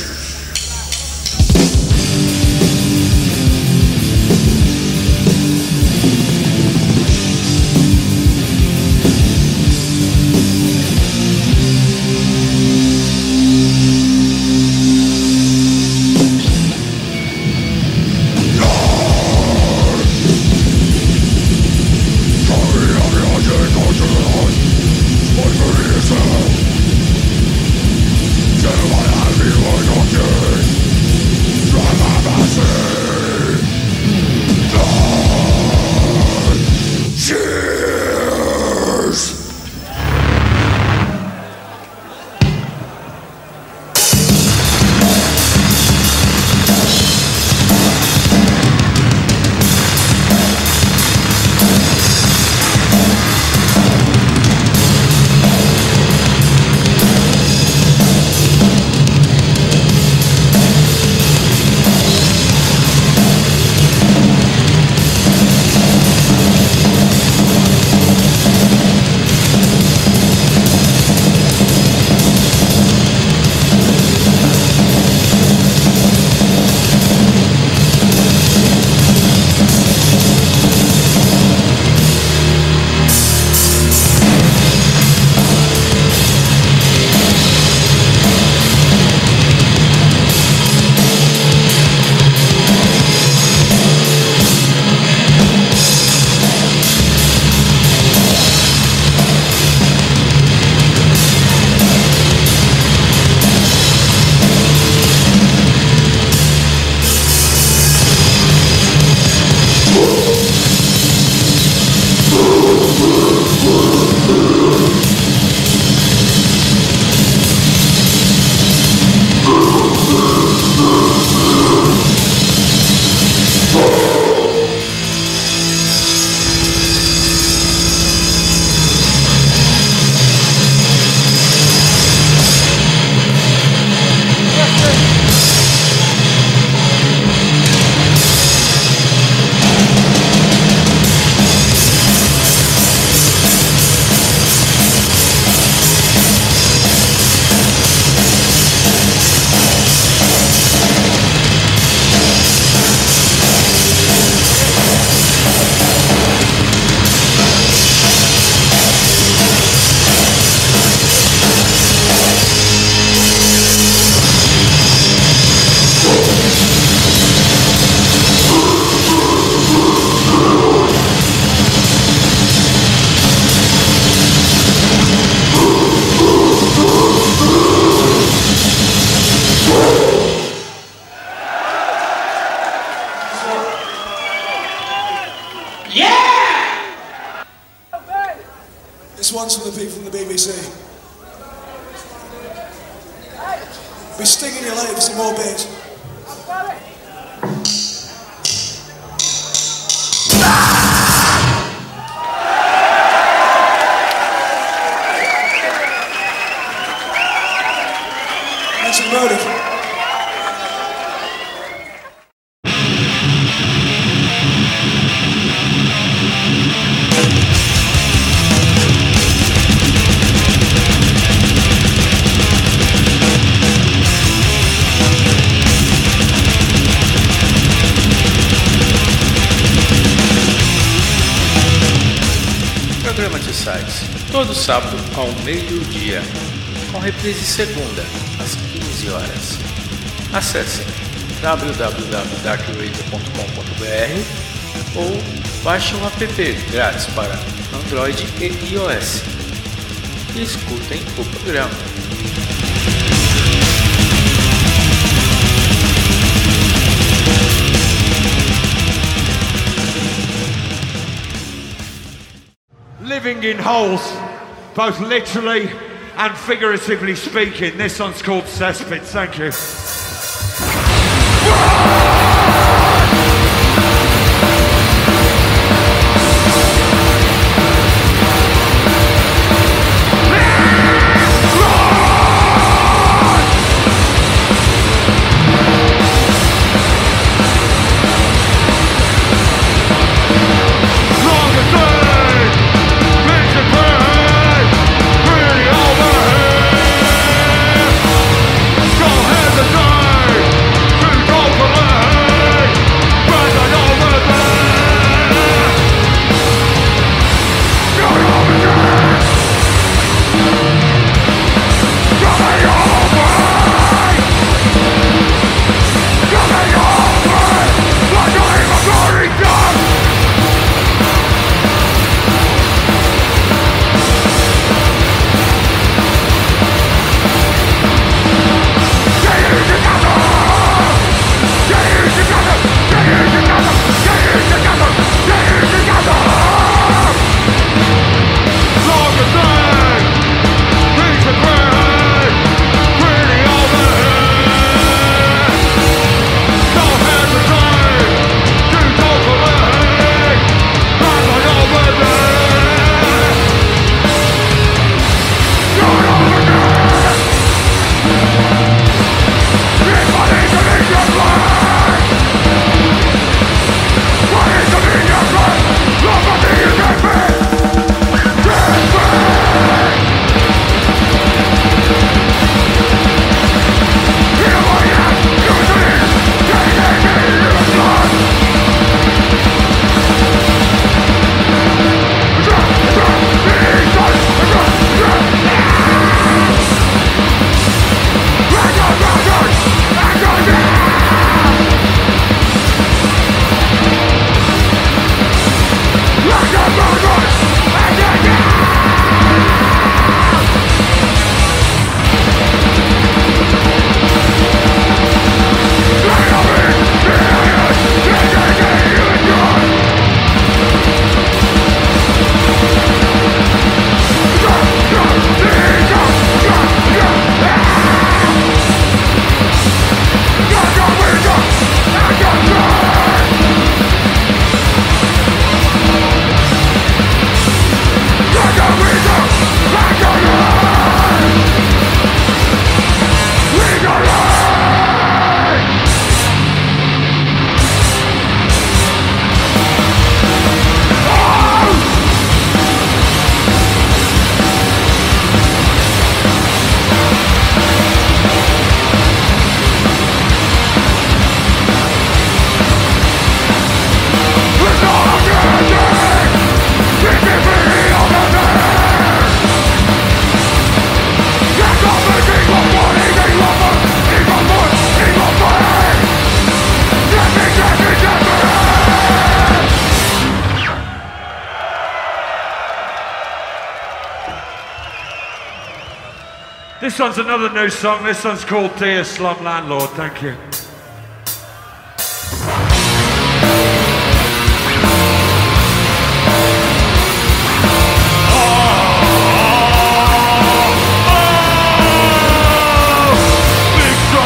Be stinging your leg for some more beers. That's a motive. Programa de sites, todo sábado ao meio-dia, com reprise segunda, às 15 horas. Acesse www.darkradio.com.br ou baixe um app grátis para Android e iOS e escutem o programa. Living in holes, both literally and figuratively speaking. This one's called Cesspit. Thank you. This one's another new song. This one's called Dear Slum Landlord. Thank you. Big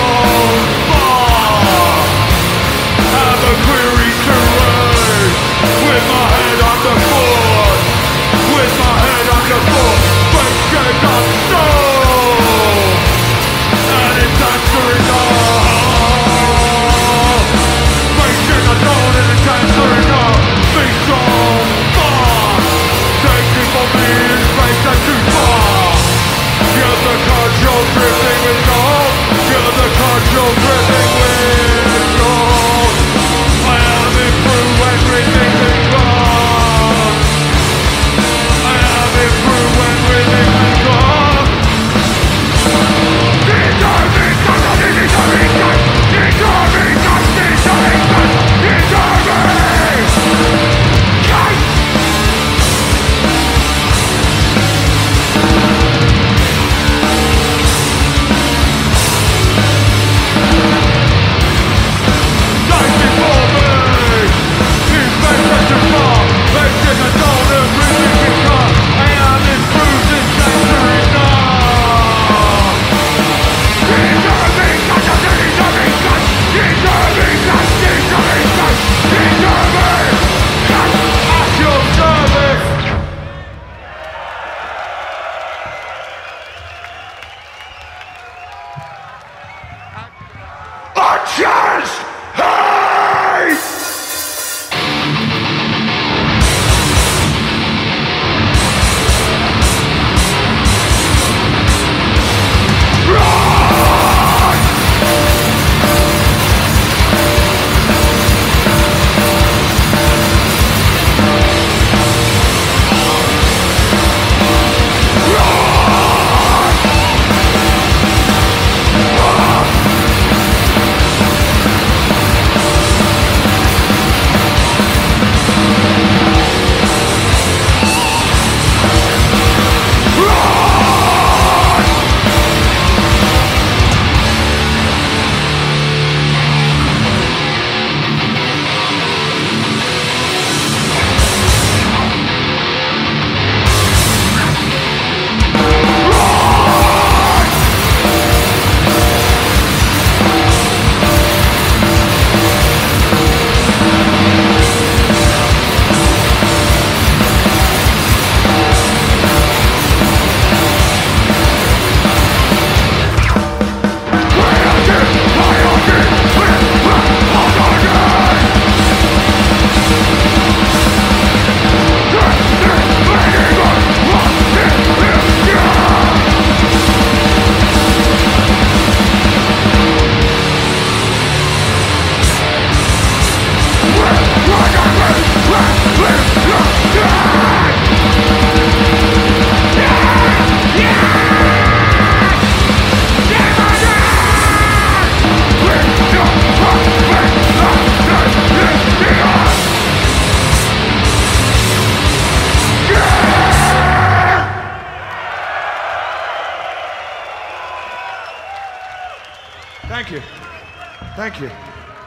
Thank you. Thank you.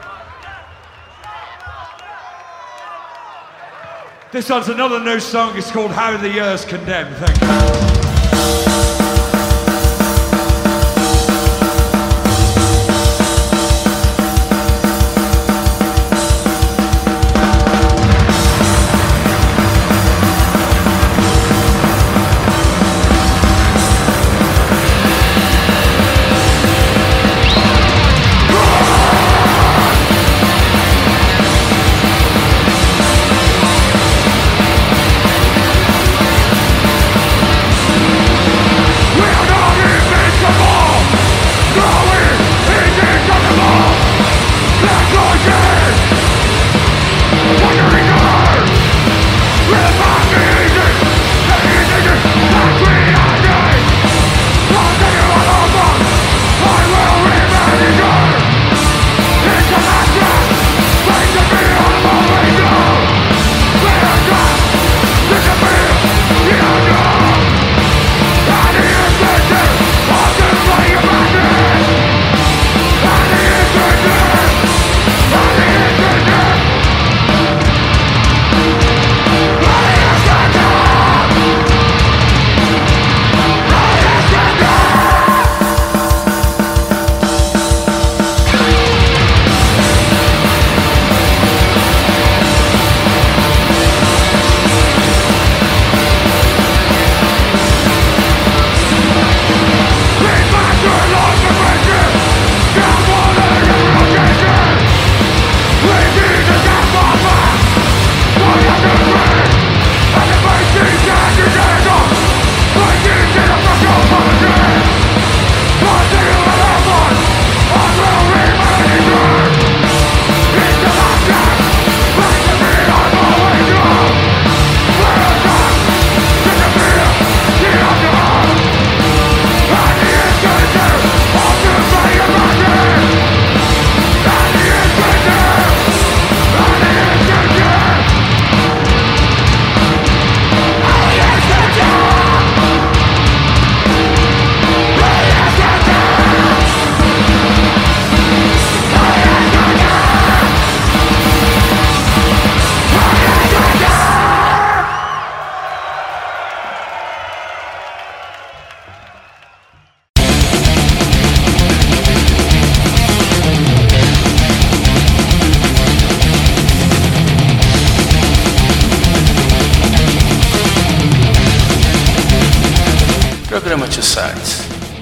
This one's another new song. It's called How the Years Condemn. Thank you. Programa Two Sides.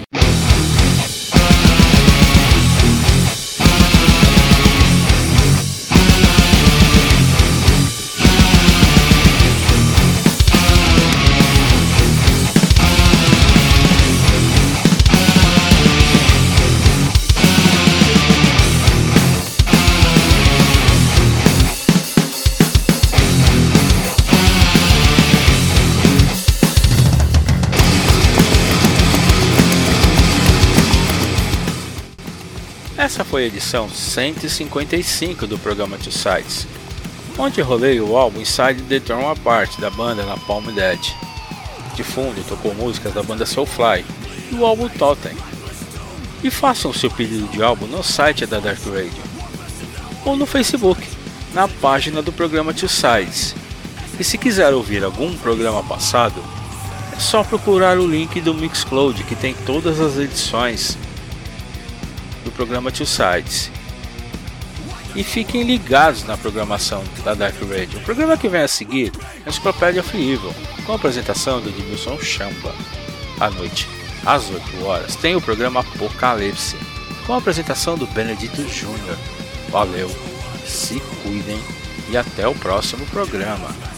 Essa foi a edição 155 do programa Two Sides, onde rolei o álbum Inside the Torn Apart da banda Napalm Dead. De fundo tocou músicas da banda Soulfly e o álbum Totem. E façam seu pedido de álbum no site da Dark Radio ou no Facebook, na página do programa Two Sides. E se quiser ouvir algum programa passado, é só procurar o link do Mixcloud, que tem todas as edições do programa Two Sides. E fiquem ligados na programação da Dark Radio. O programa que vem a seguir é a Enciclopédia of Evil, com a apresentação do Edmilson Chamba. À noite, às 8 horas, tem o programa Apocalipse, com a apresentação do Benedito Júnior. Valeu, se cuidem e até o próximo programa.